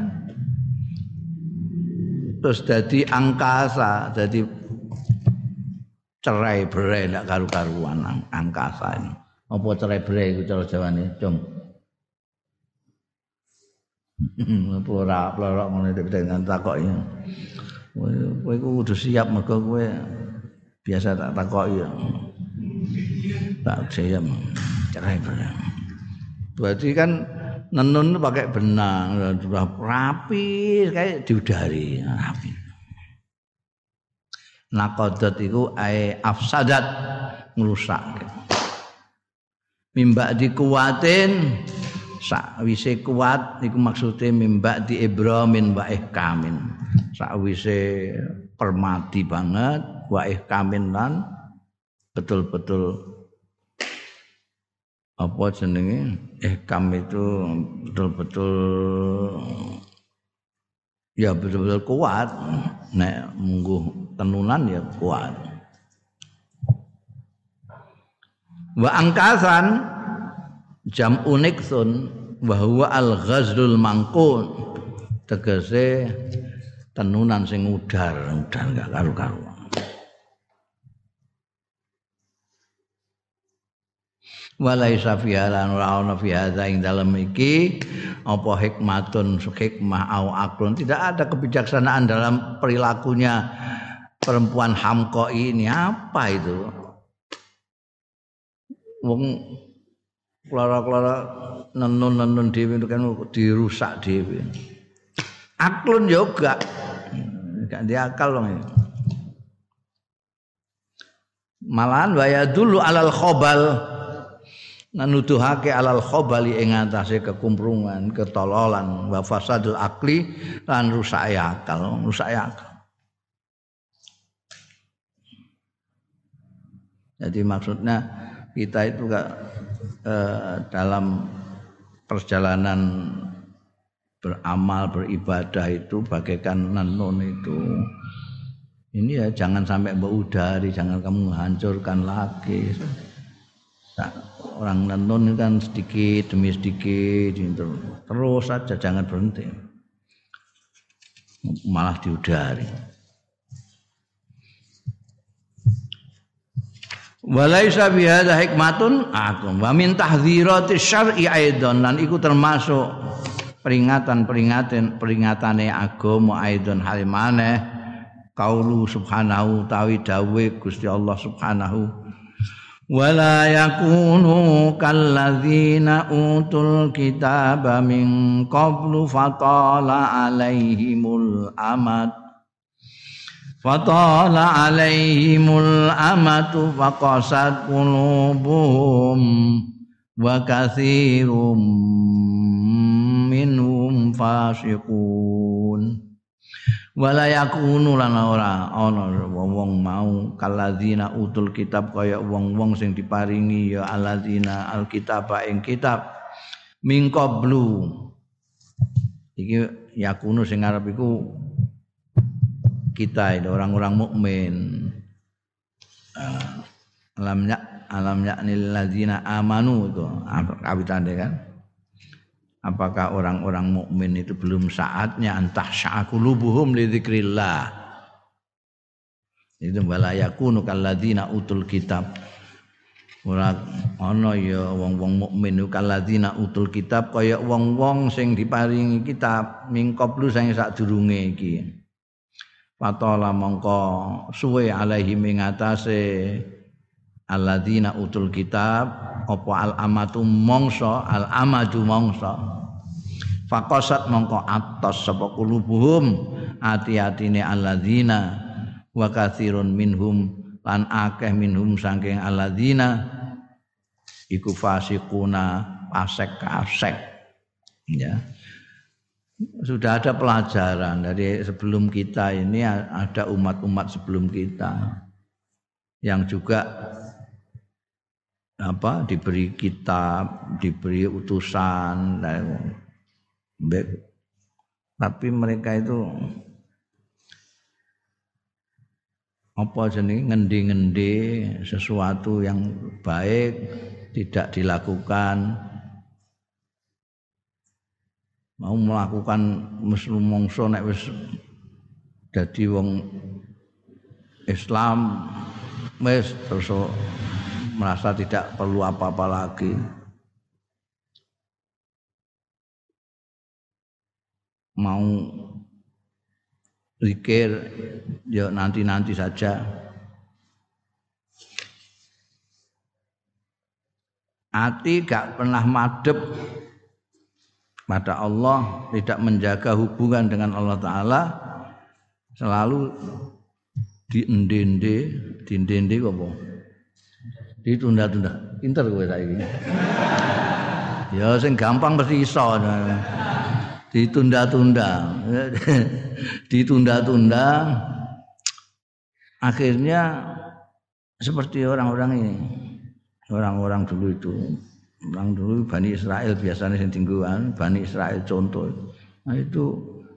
terus dadi angkasa dadi cerai berai ndak karu-karuan angkasa ini apa cerai berai iku cara Jawane cung Plora-plora ngene dengan takoki. Kowe iku kudu siap mergo kowe biasa tak takoki. Tak siap. Cerai benang. Berarti kan nenun pakai benang, sudah rapi kayak diudari, rapi. Naqadat iku ai afsadat ngrusak. Mimba dikuwatin sakwise kuat iku maksude mimbak di ibramin wa ihkamin sakwise permati banget wa ihkamin lan betul-betul apa jenenge ihkam itu betul-betul ya betul-betul kuat nek mungguh tenunan ya kuat wa angkasan jam uniksun bahwa al-ghazlul mangkun tegese tenunan sing udar udar gak karu-karuan walaisa fi halan ora ana fi hadza ing dalem iki apa hikmatun hikmah au aklun tidak ada kebijaksanaan dalam perilakunya perempuan hamqa ini apa itu wong klara-klara nenun-nenun dhewe itu kan dirusak dhewe. Aklun juga gak diakal wong iki. Malahan waya dulu alal khobal nanuduhake alal khobali ing atase kekumprungan, ketololan, wa fasadul akli lan rusak akal, rusak akal. Jadi maksudnya kita itu gak eh, dalam perjalanan beramal beribadah itu bagaikan nenun itu ini ya jangan sampai berudari, jangan kamu hancurkan lagi. Nah, orang nenun kan sedikit demi sedikit terus saja, jangan berhenti malah diudari. Walaisa bi hadza hikmatun akum wa min tahdzirati syar'i aidan lan iku termasuk peringatan-peringatan peringatane agama aidan halimane qaulu subhanahu tawi dawe Gusti Allah subhanahu wala yakunu kalladzina utul kitaba min qablu fatala alaihimul amad fatala alaihimul amatu faqasat qulubuhum wa katsirum minhum fasiqun wala yakunu lan ora ana wong-wong mau kaladzina utul kitab kaya wong-wong sing diparingi ya alladzina alkitab ing kitab min qablu iki yakunu sing arep iku kita ini orang-orang mukmin alamnya alamnya nil ladzina amanu itu kawitane kan. Apakah orang-orang mukmin itu belum saatnya antah sya'qulubuhum li dzikrillah. Itu wala yakunu kalladzina utul kitab. Ora ana ya wong-wong mukmin kalladzina utul kitab kaya wong-wong sing diparingi kitab mingkoplu sing sadurunge iki. Fatala mongko suwe alaihi ing atase alladzina utul kitab apa al amatu mongso al amadu mongso faqasat mongko atos sapa kulubuhum ati-atine alladzina wa katsirun minhum lan akeh minhum saking alladzina iku fasiquna pasek-kasek ya. Sudah ada pelajaran dari sebelum kita ini, ada umat-umat sebelum kita yang juga apa diberi kitab, diberi utusan, tapi mereka itu apa jenenge ngendi-ngendi sesuatu yang baik tidak dilakukan, mau melakukan muslim mongso nek wis dadi wong Islam wis terus merasa tidak perlu apa-apa lagi. Mau zikir ya nanti-nanti saja. Hati gak pernah madhep pada Allah, tidak menjaga hubungan dengan Allah Ta'ala, selalu diendende, diendende apa? Ditunda-tunda. Pinter kowe saiki. Ya sing gampang mesti iso. Ditunda-tunda. Ditunda-tunda. Akhirnya seperti orang-orang ini. Orang-orang dulu itu. Orang dulu Bani Israel biasanya sing tingguan, Bani Israel contoh. Nah itu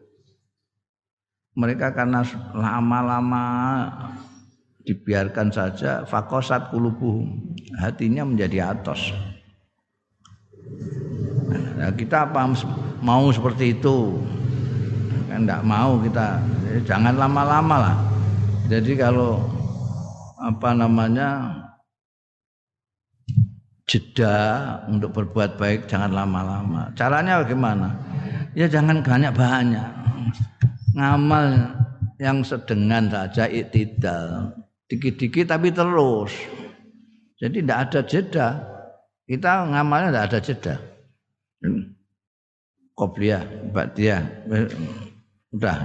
mereka karena lama-lama dibiarkan saja faqasat qulubuhum, hatinya menjadi atos. Nah, kita apa mau seperti itu? Kan enggak mau kita. Jadi jangan lama-lama lah. Jadi kalau apa namanya jeda untuk berbuat baik jangan lama-lama. Caranya bagaimana? Ya jangan banyak-banyak. Ngamal yang sedengan saja, iktidal. Dikit-dikit tapi terus. Jadi tidak ada jeda. Kita ngamalnya tidak ada jeda. Qobliyah, ba'diyah. Udah.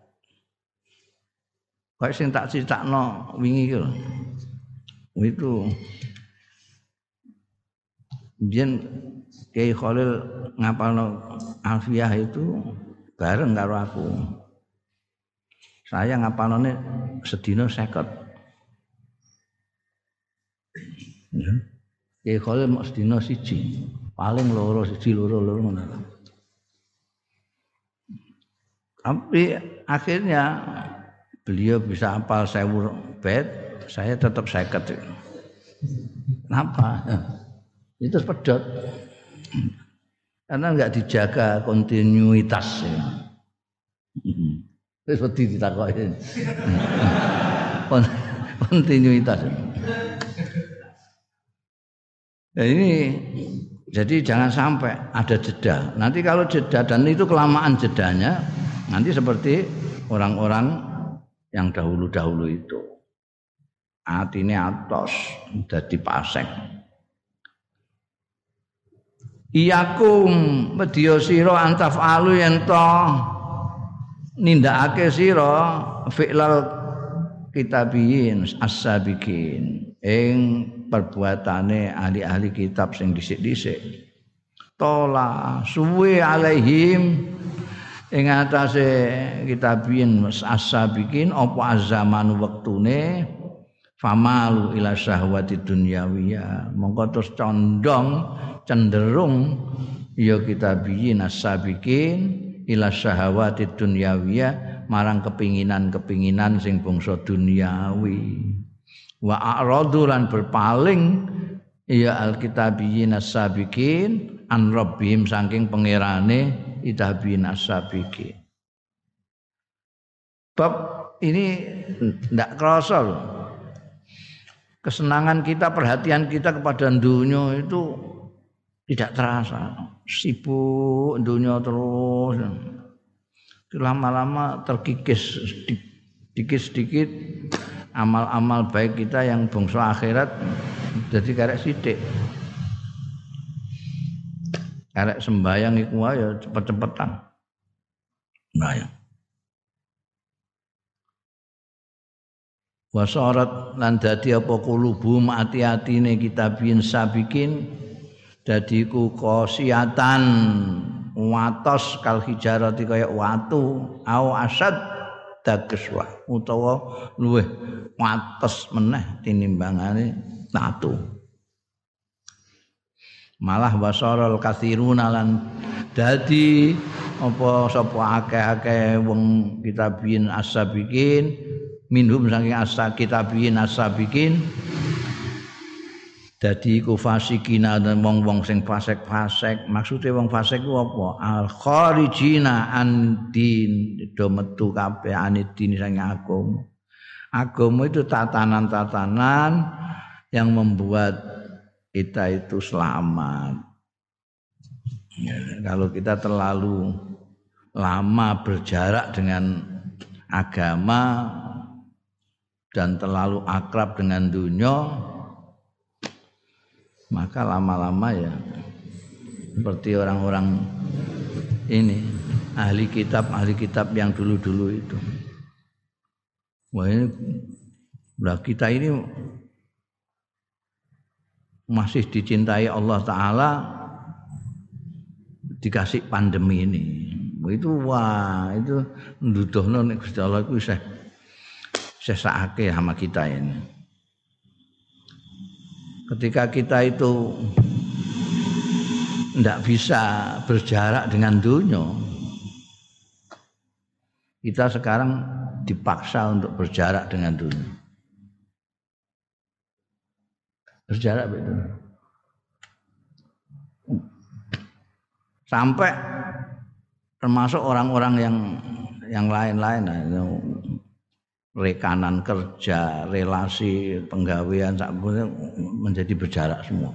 Kayak sing tak critakno wingi iki lho. Itu Biyen Kiai Khalil ngapalno Alfiyah itu bareng karo aku. Saya ngapalone sedina seket. Ya. Kiai Khalil mok sedina siji, paling loro siji loro loro ngono. Tapi akhirnya beliau bisa hafal seribu bait, saya tetap seket. Kenapa? Itu pedot karena enggak dijaga kontinuitas ya. Wis wedi ditakoki. Kontinuitas. Nah ini jadi jangan sampai ada jeda. Nanti kalau jeda dan itu kelamaan jedanya, nanti seperti orang-orang yang dahulu-dahulu itu. Atine atos dadi pasek. Iyakum medya sira antafalu yen to nindakake sira fi'lal kitabiyin as-sabiqin ing perbuatane ahli-ahli kitab sing dhisik-dhisik. Tola suwe alaihim ing atase kitabiyin as-sabiqin apa zaman wektune famalu ila syahwati dunyawiyah mongko terus condong cenderung ya kitabiyin as-sabiqin ila syahwati dunyawiyah marang kepinginan-kepinginan sing bangsa duniawi wa a'radu lan berpaling ya al-kitabiyin as-sabiqin an rabbihim saking pangerane kitabiyin as-sabiqin. Bab ini ndak kerasa loh. Kesenangan kita, perhatian kita kepada dunia itu tidak terasa. Sibuk dunia terus. Lama-lama terkikis sedikit-sedikit amal-amal baik kita yang bangsa akhirat jadi karek sithik. Karek sembayang iku wae cepet-cepetan. Sembayang. Wasarat lan dadi apa kulubu ati-atine kitabiyin sabiqin dadi ku qasiatan watos kal hijarati kaya watu au asad dageswa utawa luweh wates meneh tinimbangane watu. Malah wasaral katsiruna lan dadi apa sapa akeh-akeh wong kitabiyin as-sabiqin minhum saking as-kitabiyin as-sabiqin dadi iku fasikina dan wong-wong sing fasik-fasik. Maksude wong fasik ku apa? Al kharijina andin do metu kabeh anidin saking agama. Agama itu tatanan-tatanan yang membuat kita itu selamat. Ya, kalau kita terlalu lama berjarak dengan agama dan terlalu akrab dengan dunia, maka lama-lama ya seperti orang-orang ini ahli kitab ahli kitab yang dulu-dulu itu. Wah ini, nah kita ini masih dicintai Allah Ta'ala dikasih pandemi ini. Itu wah itu nduduhno nek Gusti Allah iku isih sesake sama kita ini. Ketika kita itu tidak bisa berjarak dengan dunia, kita sekarang dipaksa untuk berjarak dengan dunia. Berjarak betul. Sampai termasuk orang-orang yang yang lain-lain, rekanan kerja, relasi penggawean menjadi berjarak semua.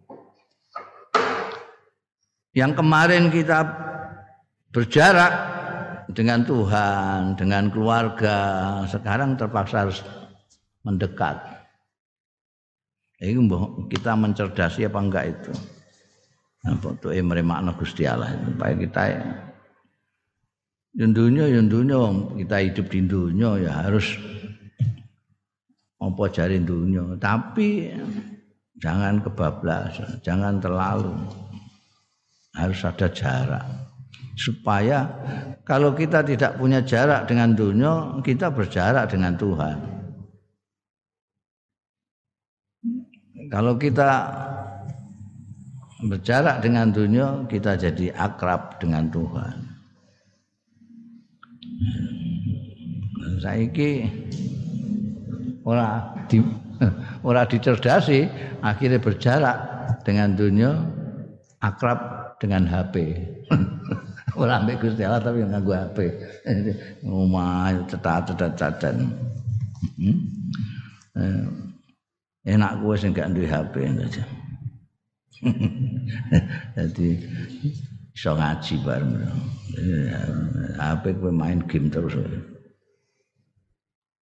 Yang kemarin kita berjarak dengan Tuhan, dengan keluarga, sekarang terpaksa harus mendekat. Ini kita mencerdasi apa enggak itu? Apa tuh meremakna Gusti Allah supaya kita yang dunia, yang dunia, kita hidup di dunia ya harus apa jari dunia, tapi jangan kebablasan, jangan terlalu, harus ada jarak supaya kalau kita tidak punya jarak dengan dunia, kita berjarak dengan Tuhan. Kalau kita berjarak dengan dunia, kita jadi akrab dengan Tuhan. Saiki ora di ora dicerdasi, akhirnya berjarak dengan dunia, akrab dengan H P. Ora ambek Gusti Allah tapi nganggo H P. Omah cetat-cetat-cetat. Enak kowe sing gak duwe H P aja. Jadi iso ngaji bareng. H P kowe main game terus.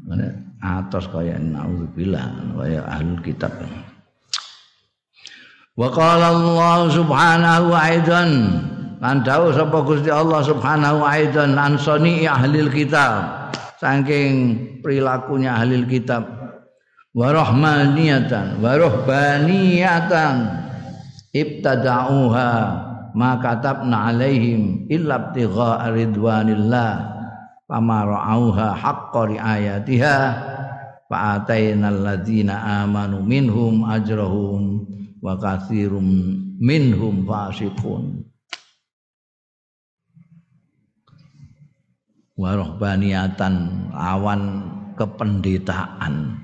atos kaya naudzubillah kaya ahlul kitab. Wa qala Allah subhanahu aidan lan dawuh sapa Gusti Allah subhanahu aidan an sani ahlil kitab saking perilakunya ahlil kitab wa rahmaniyatan wa ruhbaniyatan ibtada'uha ma katabna alaihim illa ibtigha ridwanillah fama ra'auha haqqa riayatiha fa atainal ladzina amanu minhum ajrahum wa katsirum minhum fasiqun wa ruhbaniyatan awan kependetaan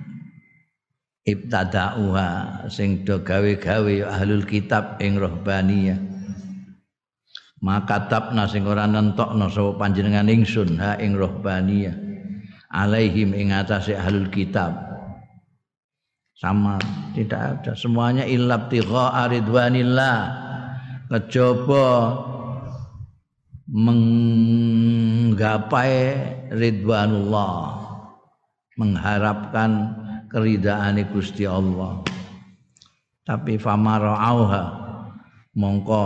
ibtada'uha sing do gawe-gawe ahlul kitab ing ruhbaniyah maka tabna sing ora nentokno sapa panjenengan ingsun ha ing ruhbaniyah alaihim ing atase ahlul kitab sama tidak ada semuanya illab tigha ridwanillah kejaba menggapai ridwanullah mengharapkan keridaane Gusti Allah tapi famarauha mongko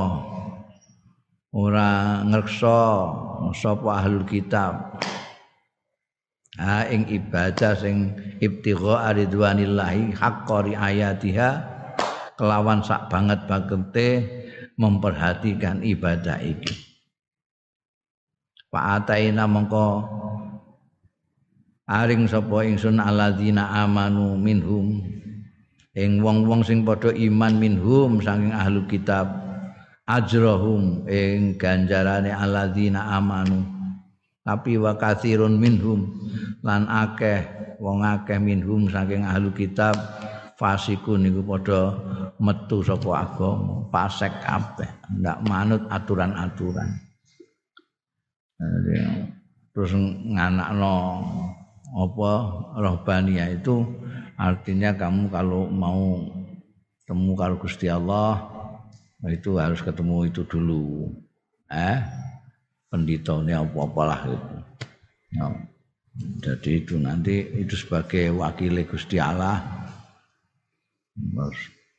ora ngreksa sapa ahlul kitab ha ing ibadah sing ibtigha ridwanillahi haqqa riayatiha kelawan sak banget bagete memperhatikan ibadah iki fa ataina mongko aring sapa ingsun alladzina amanu minhum ing wong-wong sing padha iman minhum saking ahlul kitab ajrahum ing ganjarane alladzina amanu tapi wa katsirun minhum lan akeh wong akeh minhum saking ahli kitab fasikun niku padha metu saka agama fasik kabeh ndak manut aturan-aturan terus nganakno apa rohbaniyah itu artinya kamu kalau mau temu karo Gusti Allah itu harus ketemu itu dulu eh penditone apa-apalah gitu. No. Jadi itu nanti itu sebagai wakil Gusti Allah. Terus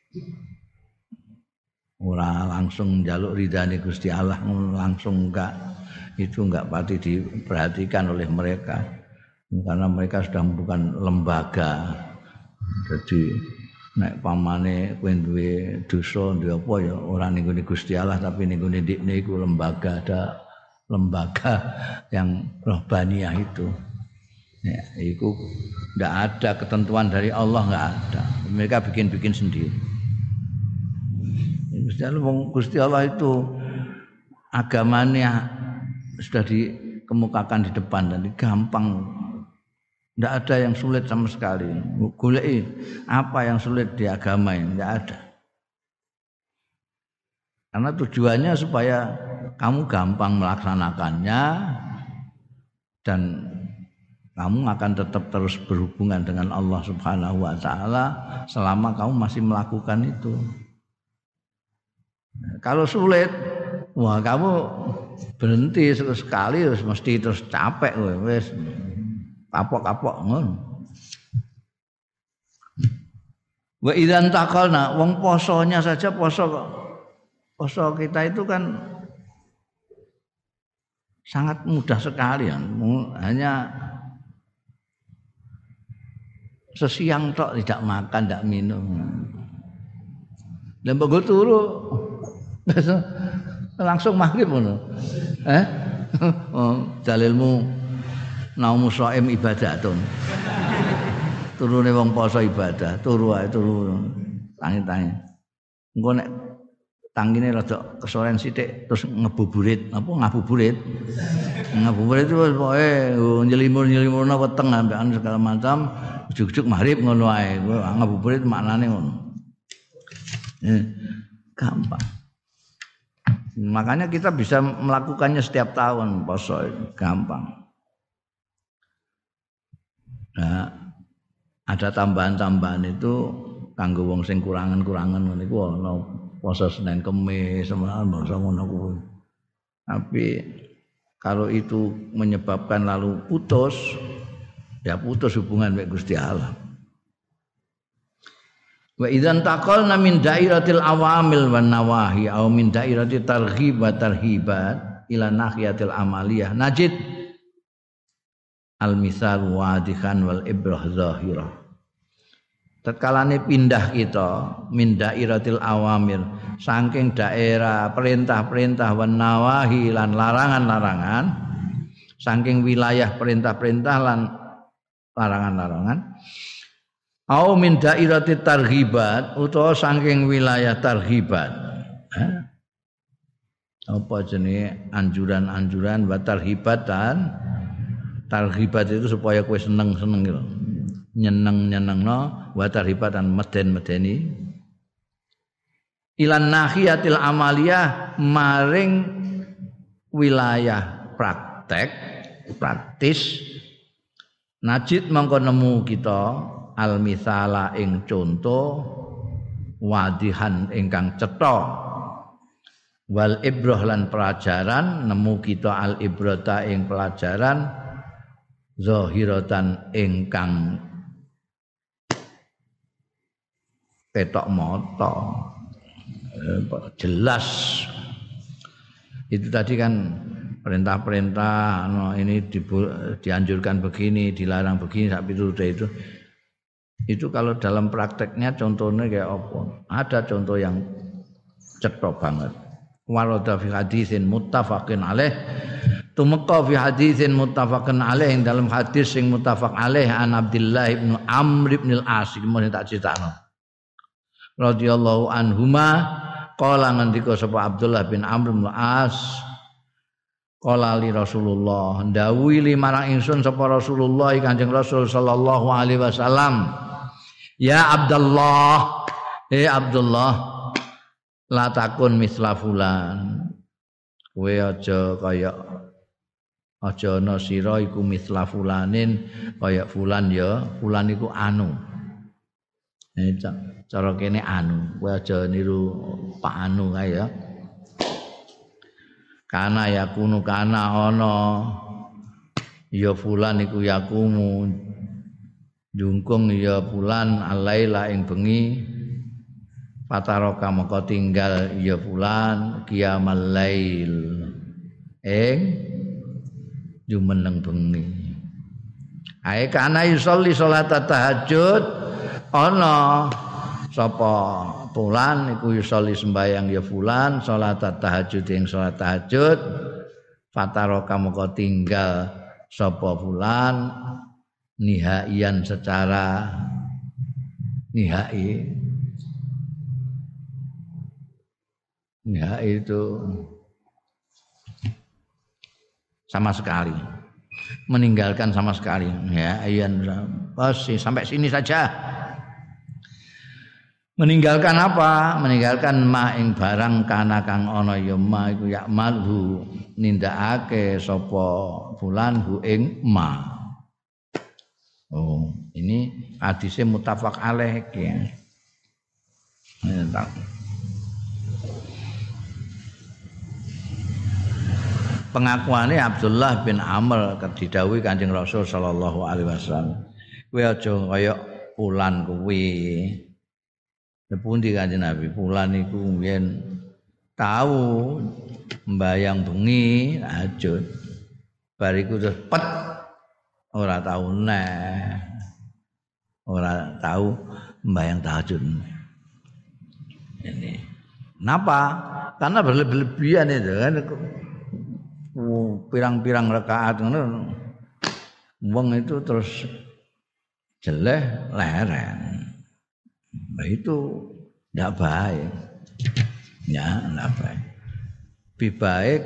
ora langsung njaluk ridane Gusti Allah langsung enggak itu enggak pati diperhatikan oleh mereka karena mereka sudah bukan lembaga. Jadi nek pamane kowe duwe dosa duwe apa ya ora ning Gusti Allah tapi ning ndikne iku lembaga ada lembaga yang rohbaniyah itu ya, itu tidak ada ketentuan dari Allah nggak ada mereka bikin-bikin sendiri Gusti Allah itu agamanya sudah dikemukakan di depan dan gampang tidak ada yang sulit sama sekali goleki apa yang sulit di agama ini tidak ada karena tujuannya supaya kamu gampang melaksanakannya dan kamu akan tetap terus berhubungan dengan Allah Subhanahu wa taala selama kamu masih melakukan itu. Kalau sulit, wah kamu berhenti sekali terus mesti terus capek wis kapok-kapok ngono. Wa idzan taqalna wong posonya saja poso kok. Poso kita itu kan sangat mudah sekali ya. Hanya sesiang tok tidak makan, tidak minum. Lembego turu langsung maghrib ngono. Eh? Oh, dalilmu naumu shaim ibadatun. Turune wong poso ibadah, turu ae turu. Tangi-tangi. Engko nek tangine rada kesoren sithik terus ngebuburit apa ngabuburit ngabuburit itu pokoke nyelimur-nyelimurna weteng ambekan segala macam ujug-ujug maghrib ngono ae ngabuburit maknane ngono eh, gampang makanya kita bisa melakukannya setiap tahun poso gampang nah ada tambahan-tambahan itu kanggo wong sing kurangan-kurangan ngene iku ana puasa Senin Kemis semalam bangsa ngono kuwi. Tapi kalau itu menyebabkan lalu putus Ya putus hubungan mek Gusti Allah. Wa idzan taqalna min dairatil awamil wan nawahi aw min dairati targhib wa tarhibat ila nahiyatil amaliyah najid al misal wadihan wal ibrah zahirah. Tatkalane pindah kita min dairatil awamir saking daerah perintah-perintah wan nawahi lan larangan-larangan saking wilayah perintah-perintah lan larangan-larangan au min dairati targhibat utawa saking wilayah targhibat. Eh? Apa jenenge anjuran-anjuran wa targhibat dan targhibat itu supaya kowe seneng-seneng gitu. Nyeneng-nyenengno wa targhibat dan meden-medeni ilan nahiyatil amaliyah maring wilayah praktek praktis najid mangko nemu kita al misala ing conto wadihan ingkang cetha wal ibrah lan pelajaran nemu kita al ibrata ing pelajaran zahiratan ingkang ketok mata jelas. Itu tadi kan perintah-perintah no, ini di, dianjurkan begini dilarang begini sampai itu itu itu kalau dalam prakteknya contohnya kayak apa? Ada contoh yang cetok banget. Warada fi hadisin muttafaqin alaih. Tumeka fi hadisin muttafaqin alaih ing dalam hadis sing muttafaq alaih an Abdullah bin Amr bin al-As mun tak critakno. Radhiyallahu anhuma qala ngendika sapa Abdullah bin Amr bin al-As qala li Rasulullah ndawuhi li marang ingsun sapa Rasulullah Kanjeng Rasul sallallahu alaihi wasallam. Ya Abdullah, eh Abdullah, la takun misla fulan. Kowe aja kaya aja ana sira iku misla fulanin kaya fulan ya, fulan iku anu. Eh cara kene anu, kowe aja niru Pak Anu kae ya. Kana yakunu kana ana ya fulan iku yakumu jungkung ya bulan alaila ing bengi fataraka maka tinggal ya bulan qiyamal lail ing jumeneng bengi ae kana yusolli salat tahajud ana sapa bulan iku yusolli sembayang ya bulan salat tahajud ing salat tahajud fataraka maka tinggal sapa bulan nihaian secara nihai nihai itu sama sekali meninggalkan sama sekali ya iyan pasti sampai sini saja meninggalkan apa meninggalkan ma ing barang kana kang ana ya ma iku ya malhu nindakake sapa fulan hu ing ma. Oh, ini hadisnya muttafaq alaih ya. Pengakuannya Abdullah bin Amr didhawuhi Kanjeng Rasul sallallahu alaihi wasallam. Kowe aja kaya fulan kuwi. Pundi Kanjeng Nabi? Fulan iku yen tahu mbayang bengi tahajud. Bariku terus pet ora tahu neh ora tahu membayang tahajud ini kenapa karena berlebihan itu kan pirang-pirang rakaat ngono wong itu terus jeleh leren nah itu tidak baik ya tidak baik lebih baik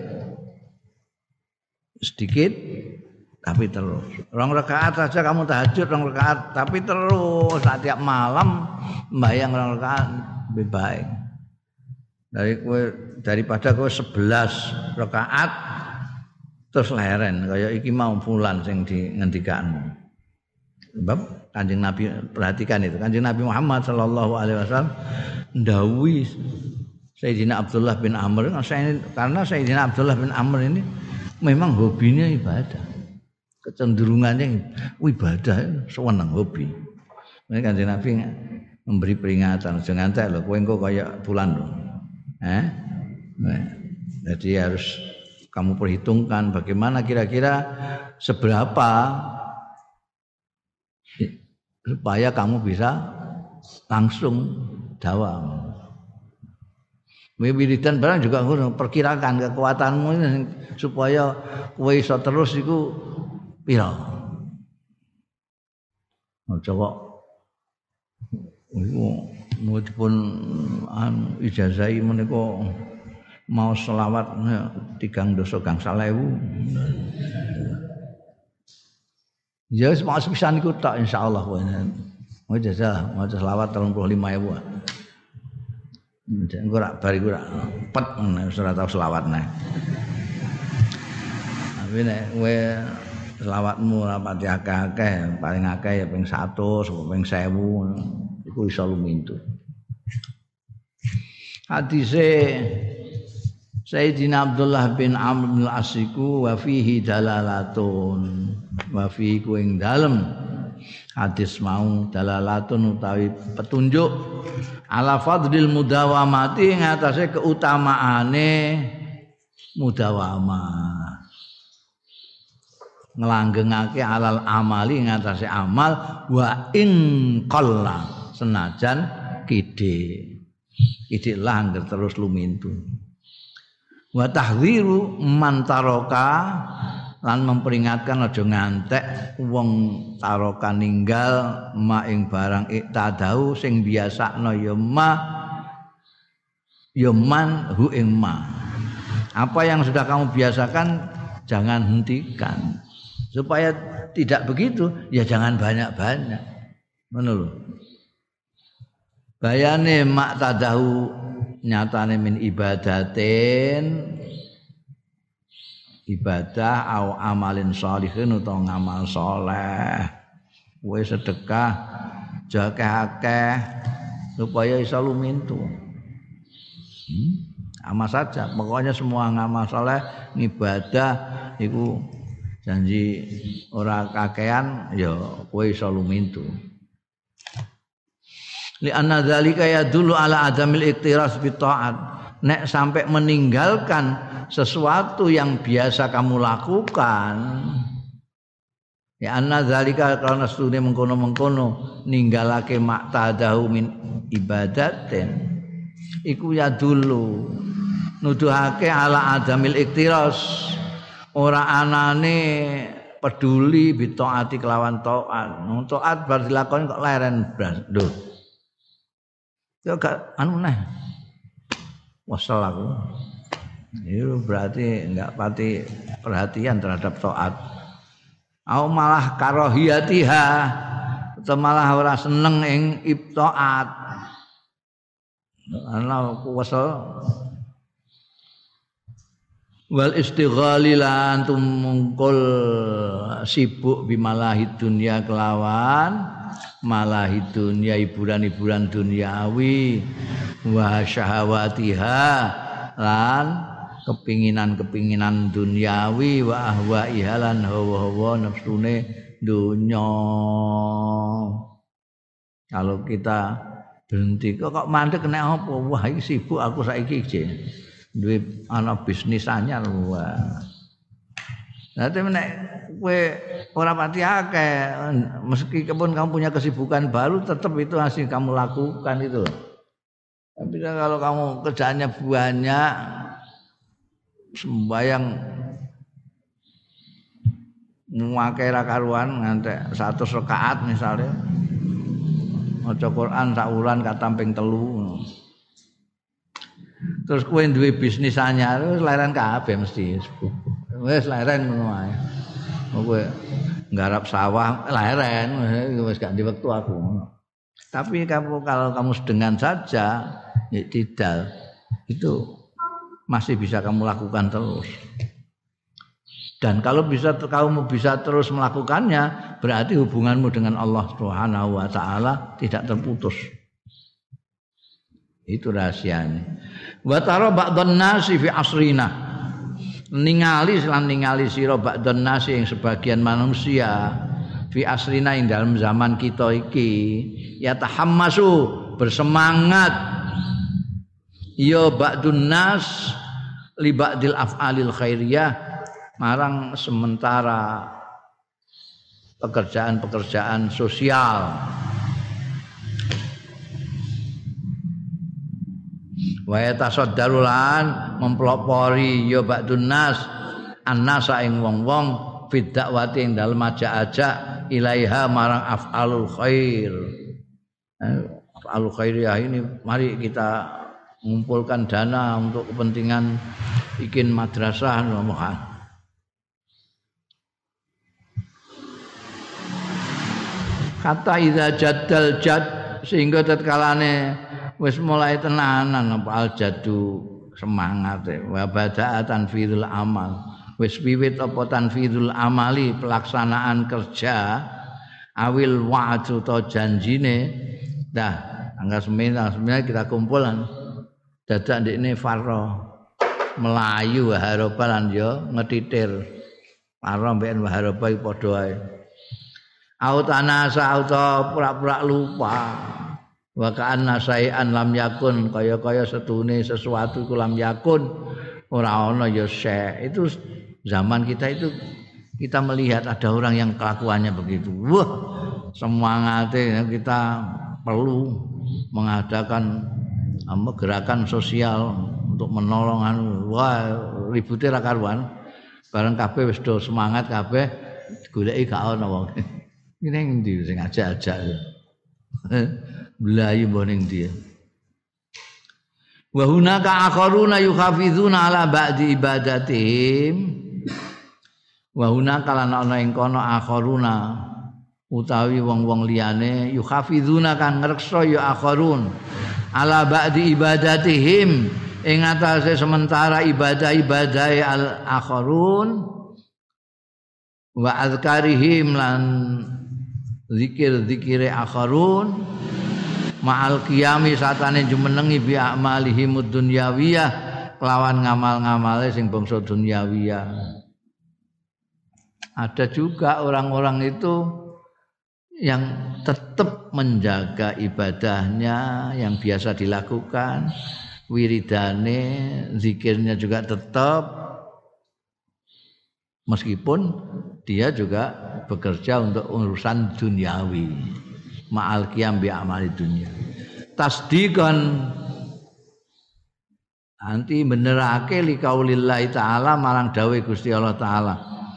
sedikit tapi terus. Rong rakaat saja kamu tahajud rong rakaat, tapi terus setiap malam membayang rong rakaat lebih baik. Dari kowe daripada kowe sebelas rakaat terus leren kaya iki mau fulan sing di ngendikanmu. Sebab Kanjeng Nabi perhatikan itu. Kanjeng Nabi Muhammad sallallahu alaihi wasallam ndhawuhi Sayyidina Abdullah bin Amr karena Sayyidina Abdullah bin Amr ini memang hobinya ibadah. kecenderungannya ibadah seneng hobi. Mereka Kanjeng Nabi memberi peringatan, jangan ngantek lho kowe engko kaya bulan lho. Eh? Nah, jadi harus kamu perhitungkan bagaimana kira-kira seberapa supaya kamu bisa langsung dawam. Wiridan barang juga ngono, perkirakan kekuatanmu ini supaya kowe iso terus iku pira. Aja kok iku mudipun anu ijazahi menika mau selawat tigang dosa gangsal ewu. Ya wis mau sepisan iku tok insyaallah kowe. Mau jajal mau selawat tiga puluh lima ribu. Engko rak bar iku rak pet wis ora tau selawat neh. Tapi nek kowe selawatmu ora pati akeh-akeh, paling akeh ya ping seratus, ping seribu iku iso lumintu. Hadise Sayyidina Abdullah bin Amr bin Al-Asiku wa fihi dalalatun wa fihi ku ing dalem hadis mau dalalatun utawi petunjuk ala fadlil mudawamati ing atase keutamaane mudawamah nglanggengake alal amali ing atase amal wa ing qalla senajan kidhe kidhe langger terus lumintu wa tahdziru man taraka lan memperingatkan aja ngantek wong taraka ninggal ma ing barang iktadau sing biasakno ya ma ya man hu ing ma apa yang sudah kamu biasakan jangan hentikan supaya tidak begitu ya jangan banyak-banyak ngono lho bayane mak tadahu nyatane min ibadatin ibadah au amalin sholihin utawa ngamal saleh kowe sedekah jakeh akeh supaya iso lumintu hmm? Ama saja pokoknya semua ngamal saleh ibadah iku janji ora kakean ya kowe iso lumintu li anna dzalika yadullu ala adamil iktiras bi taat nek sampai meninggalkan sesuatu yang biasa kamu lakukan ya anna dzalika karena stune mengkono-mengkono ninggalake maktadahu min ibadatin iku yadullu nuduhake ala adamil iktiras ora anane peduli bi taati kelawan taat taat bar dilakoni kok leren blas lho yo gak anu neh wasal aku itu berarti enggak pati perhatian terhadap taat au malah karahiyatiha atau malah ora seneng ing ibtaat ana wasal wal istighali lan tumungkul sibuk bimalahi dunya kelawan malahi dunya hiburan-hiburan duniawi wa syahawatiha lan kepinginan-kepinginan duniawi wa ahwaiha lan hawa-hawa nafsune dunya kalau kita berhenti kok kok mandek nek apa wah iki sibuk aku saiki iki duwe ana bisnis anyar wah nanti nek kowe ora pati akeh meskipun kamu punya kesibukan baru tetap itu hasil kamu lakukan itu. Tapi kalau kamu kerjaannya banyak sembayang ngake ra karuan ngantek seratus rakaat misalnya maca Quran sak wulan katamping telu. Terus kowe duwe bisnis anyar wis leren kabeh mesti. Wis leren ngono ae. Kowe nggarap sawah leren wis gak di wektu aku. Tapi kamu kalau kamu sedengan saja ya tidak itu masih bisa kamu lakukan terus. Dan kalau bisa kamu bisa terus melakukannya berarti hubunganmu dengan Allah Subhanahu wa taala tidak terputus. Itu rahasianya. Wa tara ba'dhan nasi fi asrina ningali lan ningali sira ba'dun nasi ing sebagian manusia fi asrina ing dalam zaman kita iki ya tahammasu bersemangat ya ba'dun nas li ba'dil af'alil khairiyah marang sementara pekerjaan-pekerjaan sosial wa yatasaddarulan mempelopori ya ba'dun nas annasa ing wong-wong fid dakwati ing dalem ajak-ajak ilaiha marang af'alul khair. Af'alul khairiyah ini mari kita mengumpulkan dana untuk kepentingan bikin madrasah nomohan. Kata idza jaddal jad sehingga tatkalane wis mulai tenanan apa al jadu semangat wa bada'a tanfidul amal wis wiwit apa tanfidul amali pelaksanaan kerja awil wa'du to janjine dah tanggal sembilan kita kumpulan dadak ndekne farro melayu waharoba lan yo ngetitir farro mben waharoba padha ae autanasa auto pura-pura lupa wa ka'anna sayan lam yakun kaya-kaya setune sesuatu iku lam yakun ora ana ya syai. Itu zaman kita itu kita melihat ada orang yang kelakuannya begitu. Wah, semangatnya kita perlu mengadakan um, gerakan sosial untuk menolong anu. Wah, ribute ra karuan. Bareng kabeh wis do semangat kabeh goleki gak ana wong. Iki ning ndi sing ajak-ajak. Belayu boning dia. Wa hunaka akharuna yukhafizuna ala ba'di ibadatihim. Wa hunaka lan ana ing kono akharuna utawi wong-wong liyane yukhafizuna kang ngreksa ya akharun ala ba'di ibadatihim ing atase sementara ibadah-ibadah al akharun wa azkarihim lan zikir-zikire akharun ma'al qiyami satane jumenengi bi amalihim dunyawiyah kelawan ngamal-ngamale sing bangsa dunyawiyah. Ada juga orang-orang itu yang tetap menjaga ibadahnya yang biasa dilakukan, wiridane, zikirnya juga tetap meskipun dia juga bekerja untuk urusan duniawi. Ma'al qiyam bi amali dunya. Tasdiqan anti benerake li qaulillah taala marang dawuh Gusti Allah taala.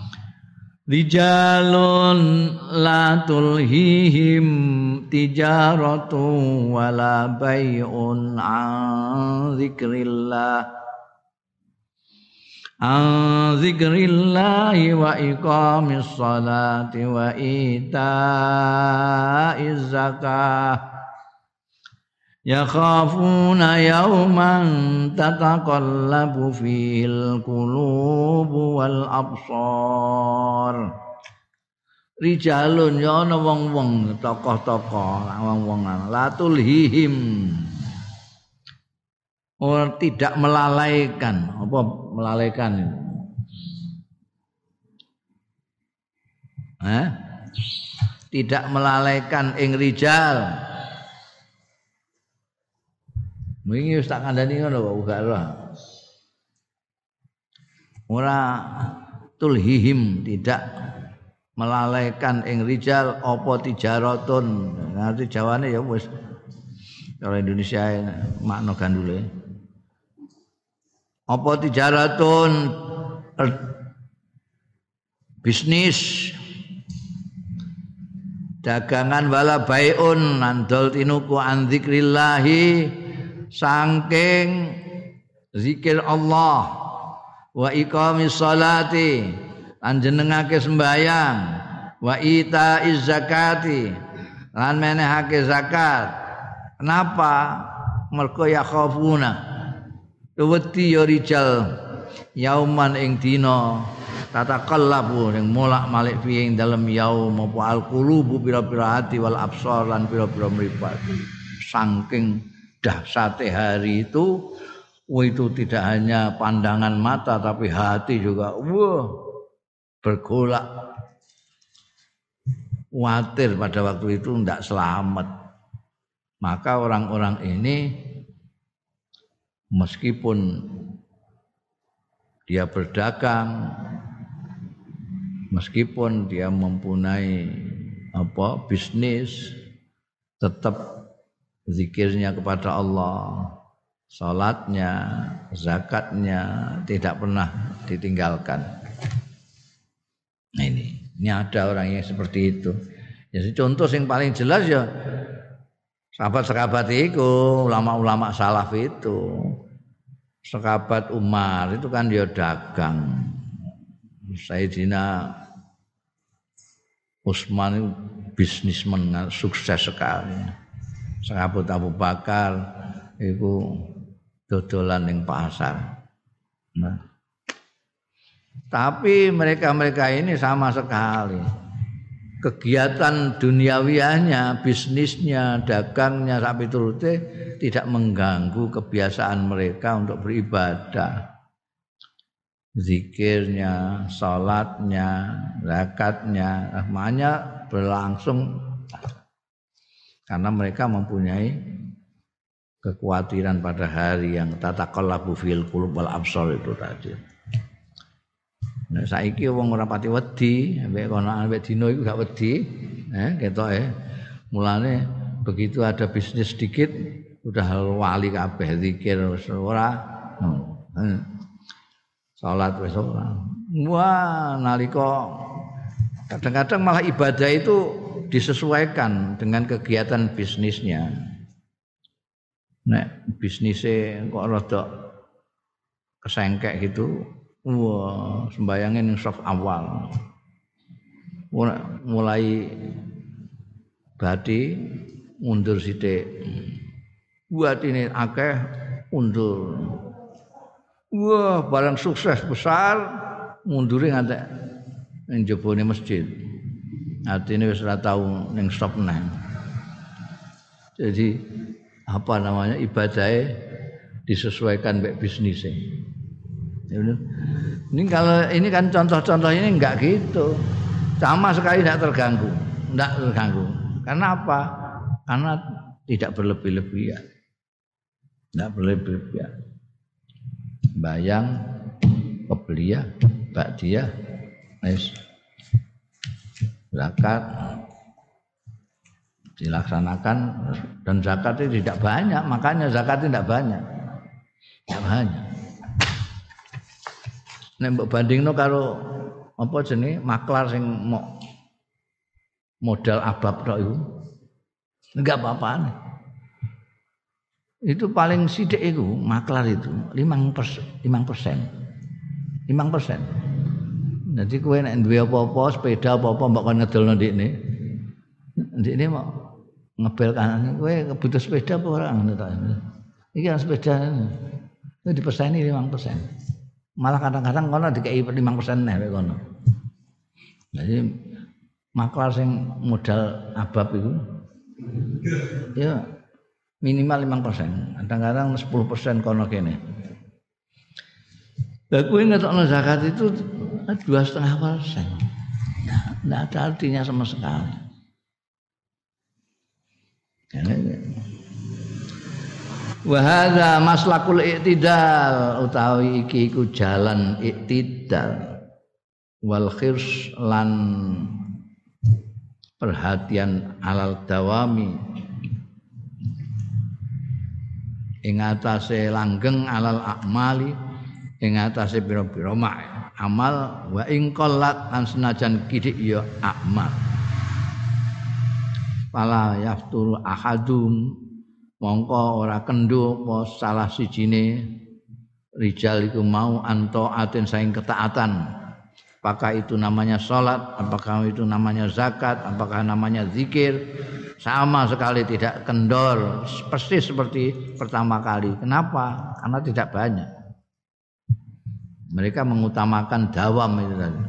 Rijalun la tulhihim tijaratu wala bai'un an dzikrillah an dzikrillahi wa iqamis salati wa ita'iz zakah yakhafuna yawman tataqallabu fil qulubu wal absar. Rijalun ya ana wong-wong tokoh-tokoh wong-wong latul hihim orang tidak melalaikan apa melalaikan eh? Tidak melalaikan ing rijal. Wingi wis tak kandhani ngono kok uga ora. Ora tulhihim tidak melalaikan ing rijal apa tijaratun. Ngerti Jawane ya wis cara Indonesia makna gandule. Apa tijaratun bisnis dagangan wala baiun nandol tinuku an zikrillahi saking zikir Allah wa iqamis salati lan jenengake sembahyang wa itaiz zakati lan menehake zakat. Kenapa? Mergo ya khafuna wedi ya rijal yauman ing dina tataqallabu ning molak-malik fi ing dalem yaum apa alqulubu pira-pira hati wal absar lan pira-pira mripat. Saking dahsate hari itu Wah, itu tidak hanya pandangan mata tapi hati juga wah bergolak. Khawatir pada waktu itu tidak selamat. Maka orang-orang ini meskipun dia berdagang, meskipun dia mempunyai apa bisnis, tetap zikirnya kepada Allah, salatnya, zakatnya tidak pernah ditinggalkan. Nah ini, ini ada orang yang seperti itu. Jadi contoh yang paling jelas ya sahabat-sahabat itu, ulama-ulama salaf itu. Sahabat Umar itu kan dia dagang. Sayyidina Utsman itu bisnismen sukses sekali. Sahabat Abu Bakar itu dodolan ning pasar. Nah. Tapi mereka-mereka ini sama sekali kegiatan duniawiahnya, bisnisnya, dagangnya sampai turute tidak mengganggu kebiasaan mereka untuk beribadah. Zikirnya, salatnya, zakatnya, semuanya berlangsung karena mereka mempunyai kekhawatiran pada hari yang tataqallabu fil qulub wal absar itu tadi. Nah saiki wong ora pati wedi, ambek kono ambek dino iku gak wedi, eh ketoke. Mulane begitu ada bisnis sedikit udah wali kabeh zikir wis ora. Hmm. Salat wis ora. Wah, nalika kadang-kadang malah ibadah itu disesuaikan dengan kegiatan bisnisnya. Nek bisnisnya kok rada kesengkek gitu, wah sembayangin yang saf awal. Mulai badi mundur sithik. Buat ini akeh mundur. Wah, barang sukses besar mundure ngantek ning jebone masjid. Artine wis ora tau ning stop neh. Jadi apa namanya ibadahnya disesuaikan dengan bisnisnya. Ini kalau ini kan contoh-contoh ini enggak gitu, sama sekali tidak terganggu, tidak terganggu. Karena apa? Karena tidak berlebih-lebihan, tidak berlebih-lebihan. Bayang, kebelia, ba'diyah, zakat dilaksanakan dan zakat itu tidak banyak, makanya zakat tidak banyak, tidak banyak. Nek mbok bandingno karo apa jenenge maklar sing mo, modal abab tok iku enggak apa-apaan. Itu paling sithik iku maklar itu lima persen. lima persen. Jadi kowe nek duwe apa-apa sepeda apa-apa mbok kon ngedolno ndikne. Ndikne mau ngebel kanan kowe butuh sepeda apa ora ngono ta. Iki ana sepeda. Itu diperseni lima persen. Malah kadang-kadang kono dikei lima persen neh kono. Jadi maklar sing modal abab itu ya minimal lima persen, kadang-kadang sepuluh persen kono kene. Lah kuwi ngetokno zakat itu dua koma lima persen. Enggak ada artinya sama sekali. Wa hadza maslakul i'tidal utawi iki iku jalan i'tidal wal khirs lan perhatian alal dawami ing atase langgeng alal akmali ing atase pira-pira amal wa ing qallat lan senajan kidik ya amal pala yafturu ahadum mongko ora kendho apa salah sijine rijal iku mau antaatin saing ketaatan. Apakah itu namanya salat, apakah itu namanya zakat, apakah namanya zikir, sama sekali tidak kendor, persis seperti pertama kali. Kenapa? Karena tidak banyak. Mereka mengutamakan dawam itu tadi.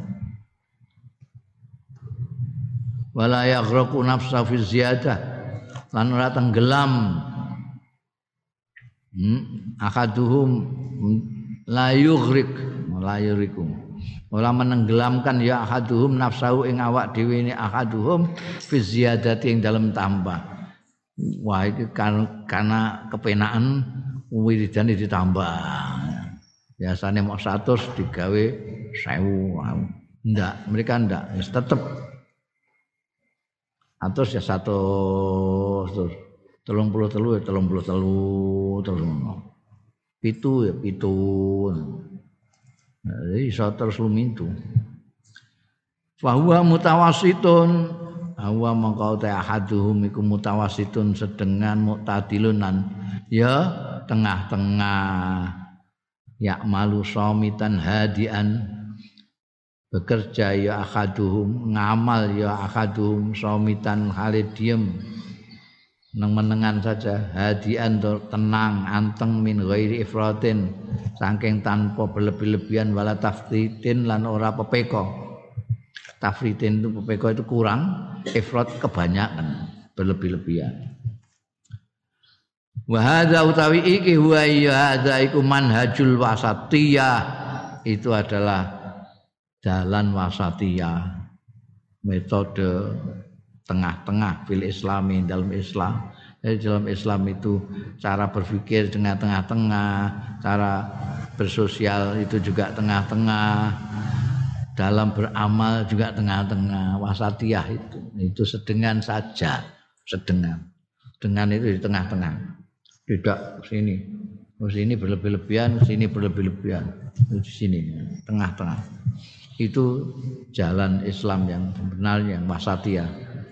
Wala yaghraqu nafsa fi ziyadah lan ora tenggelam Hmm, akaduhum la yughrik, la yurikum. Ora menenggelamkan ya akaduhum nafsahu ing awak dhewe ne akaduhum fi ziyadati ing dalem tambah. Wah iki kan karena kepenaan wiridane ditambah. Biasanya mau seratus digawe seribu. Enggak, mereka enggak, tetap atus ya satu terus telung puluh telu ya telung puluh telu terus pitu ya pitu. Nah, jadi iso terus lumintu. Fa huwa mutawassitun, huwa mangkau ta ahaduhum iku mutawassitun sedengan mu'tadilunan ya tengah-tengah. Ya malu somitan hadian bekerja ya akaduhum ngamal ya akaduhum somitan halid diem nang menengan saja hadian tenang anteng min ghairi ifratin saking tanpa berlebih-lebihan wala tafritin lan ora pepeko. Tafritin itu pepeko itu kurang, ifrat kebanyakan, berlebih-lebihan. Wa hadza utawi iki huwa ya hadza iku manhajul wasatiyah, itu adalah jalan wasatiyah, metode tengah-tengah fil islami dalam Islam. Jadi dalam Islam itu cara berpikir dengan tengah-tengah, cara bersosial itu juga tengah-tengah, dalam beramal juga tengah-tengah. Wasatiyah itu itu sedengan saja, sedengan. Dengan itu di tengah-tengah. Tidak sini. Sini berlebih-lebihan, sini berlebih-lebihan. Di sini tengah-tengah. Itu jalan Islam yang benar, yang wasatiyah.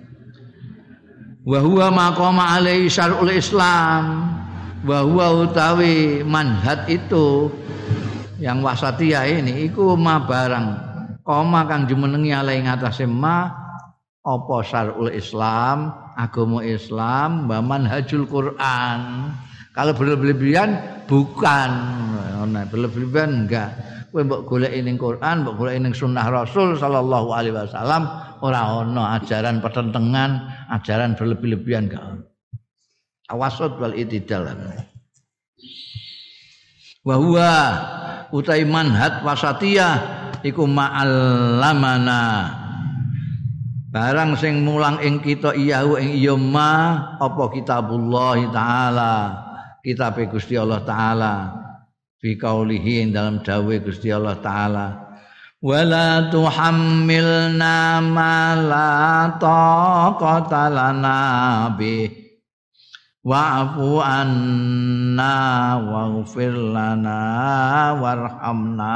Wa huwa maqama alaihi syar'ul Islam. Wa huwa utawi manhaj itu yang wasatiyah ini iku ma barang koma kang jumenengi alaihi ngatasé ma apa syar'ul Islam, agama Islam, wa manhajul Quran. Kalau berlebihan bukan, berlebihan enggak. Kowe mbok goleki ning Quran, mbok goleki ning sunnah Rasul sallallahu alaihi wasallam, ora ana ajaran pertentangan, ajaran berlebih-lebihan enggak. Tawassul wal itidal. Wa huwa utai manhaj wasatiyah iku ma'allamana. Barang sing mulang ing kita iyahu ing iya ma apa kitabullah taala, kitab Gusti Allah taala. Fi qaulihi dalam dawuh Gusti Allah taala wala tuhammilna ma la taqata lana bi wa'fu anna waghfir lana warhamna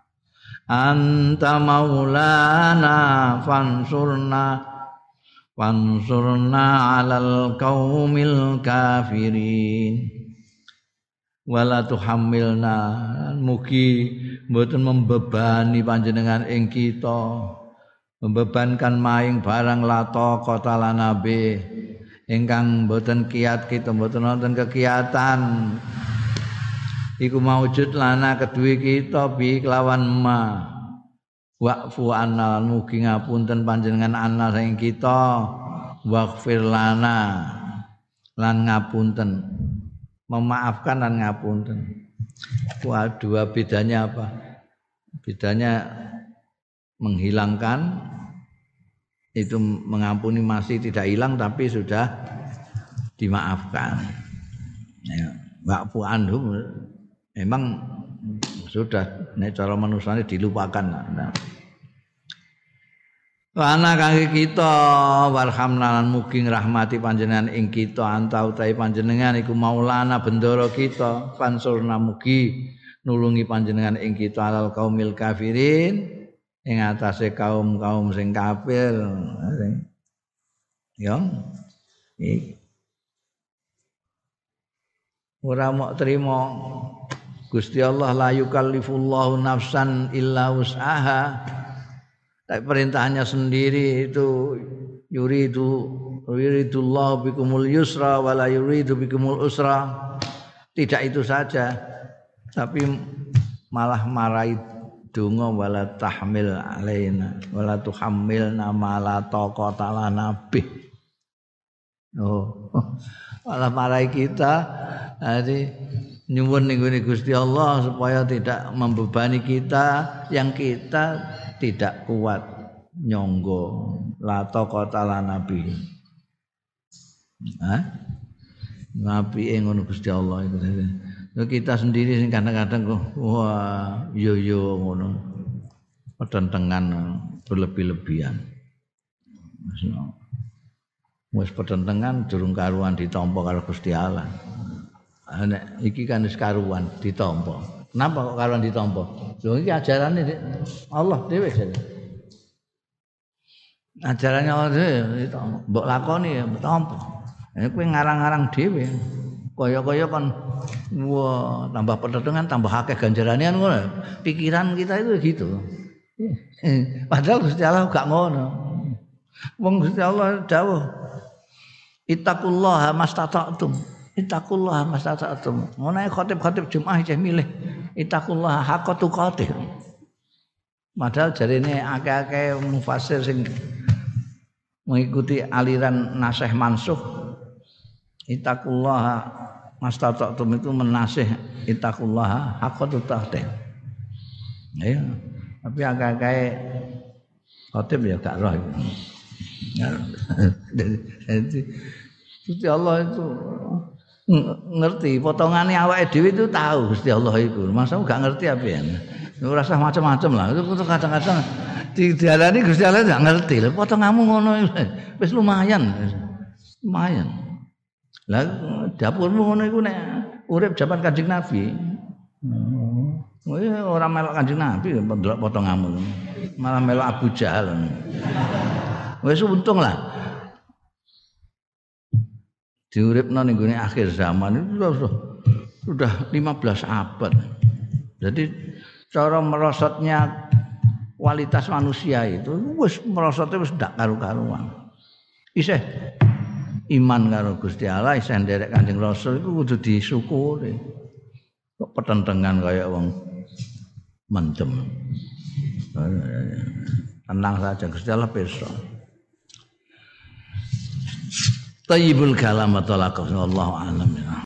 anta maulana fansurna fansurna 'alal qaumil kafirin. Wala tuhammilna mugi mboten membebani panjenengan ing kita, membebankan maing barang lato kota lanabe ingkang mboten kiat kita, mboten wonten kekiatan iku maujud lana kedue kita bi kelawan ma wa'fu anna mugi ngapunten panjenengan anna saking kita waghfir lana lan ngapunten, memaafkan dan ngapunten. Wah, dua bedanya apa? Bedanya menghilangkan itu, mengampuni masih tidak hilang tapi sudah dimaafkan. Ya, wa'fu anhum memang sudah nek cara manusane dilupakan. Nah. Wana kangge kita warhamna lan mugi ngrahmati panjenengan ing kita anta utahe panjenengan iku maulana bendoro kita fansurna mugi nulungi panjenengan ing kita alal kaumil kafirin ing atase kaum-kaum sing kafir. Ya. Iki ora mok trimo Gusti Allah la yukallifullahu nafsan illa wus'aha. Tapi perintahnya sendiri itu yuridu yuridullahu bikumul yusra wala yuridu bikumul usra. Tidak itu saja, tapi malah marahi donga wala tahmil alaina wala tuhammilna ma la taqata lana bih. Oh, malah marahi kita. Jadi nyuwun ning Gusti Allah supaya tidak membebani kita yang kita tidak kuat nyonggo la taqata nabi. Hah? Nabi ngono Gusti Allah itu. Kita sendiri sing kadang-kadang kok wah yo yo ngono. Petentengan berlebih-lebihan. Wis petentengan durung karuan ditampa karo Gusti Allah. Nek iki kan wis karuan ditampa. Kenapa kok karuan ditampa? Lho iki ajarane Allah dhewe jare. Ajarannya Allah dhewe ditampa. Mbok lakoni ya ditampa. Nek kowe ngarang-ngarang dhewe kaya-kaya kan wah tambah petentengan tambah akeh ganjarane ngono. Pikiran kita itu gitu. Padahal Gusti Allah gak ngono. Wong Gusti Allah dawuh ittaqullaha mastata'tum. Ittaqullaha mastata'tum. Ngono ae khatib-khatib Jumat cah milih ittaqullaha haqqa tuqatih. Padahal jarine akeh-akeh mufassir sing mengikuti aliran nasih mansukh ittaqullaha mastata'tum itu menasih ittaqullaha haqqa tuqatih. Ya, tapi akeh-akeh khatib ya gak roh itu. Jadi Gusti Allah itu ngerti potongane awake dhewe itu tahu Gusti Allah itu. Masa gak ngerti apa ya? Ora usah macam-macam lah. Itu kadang-kadang dijalani Gusti Allah gak ngerti. Lah potonganmu ngono wis lumayan. Lumayan. Lah dapurmu ngono iku nek urip jaman Kanjeng Nabi. Oh, ora melok Kanjeng Nabi ndelok potonganmu. Malah melok Abu Jahal. Wis untung lah. Diuripno ning gone akhir zaman itu sudah, sudah lima belas abad. Jadi cara merosotnya kualitas manusia itu wis merosotnya wis ndak karu-karuan. Isih iman karo Gusti Allah, isih nderek Kanjeng Rasul iku kudu disyukuri. Kok petentengan kaya wong mentem. Tenang saja Gusti Allah pirsa. Tayyibul kalam wa talaqah wallahu a'lam.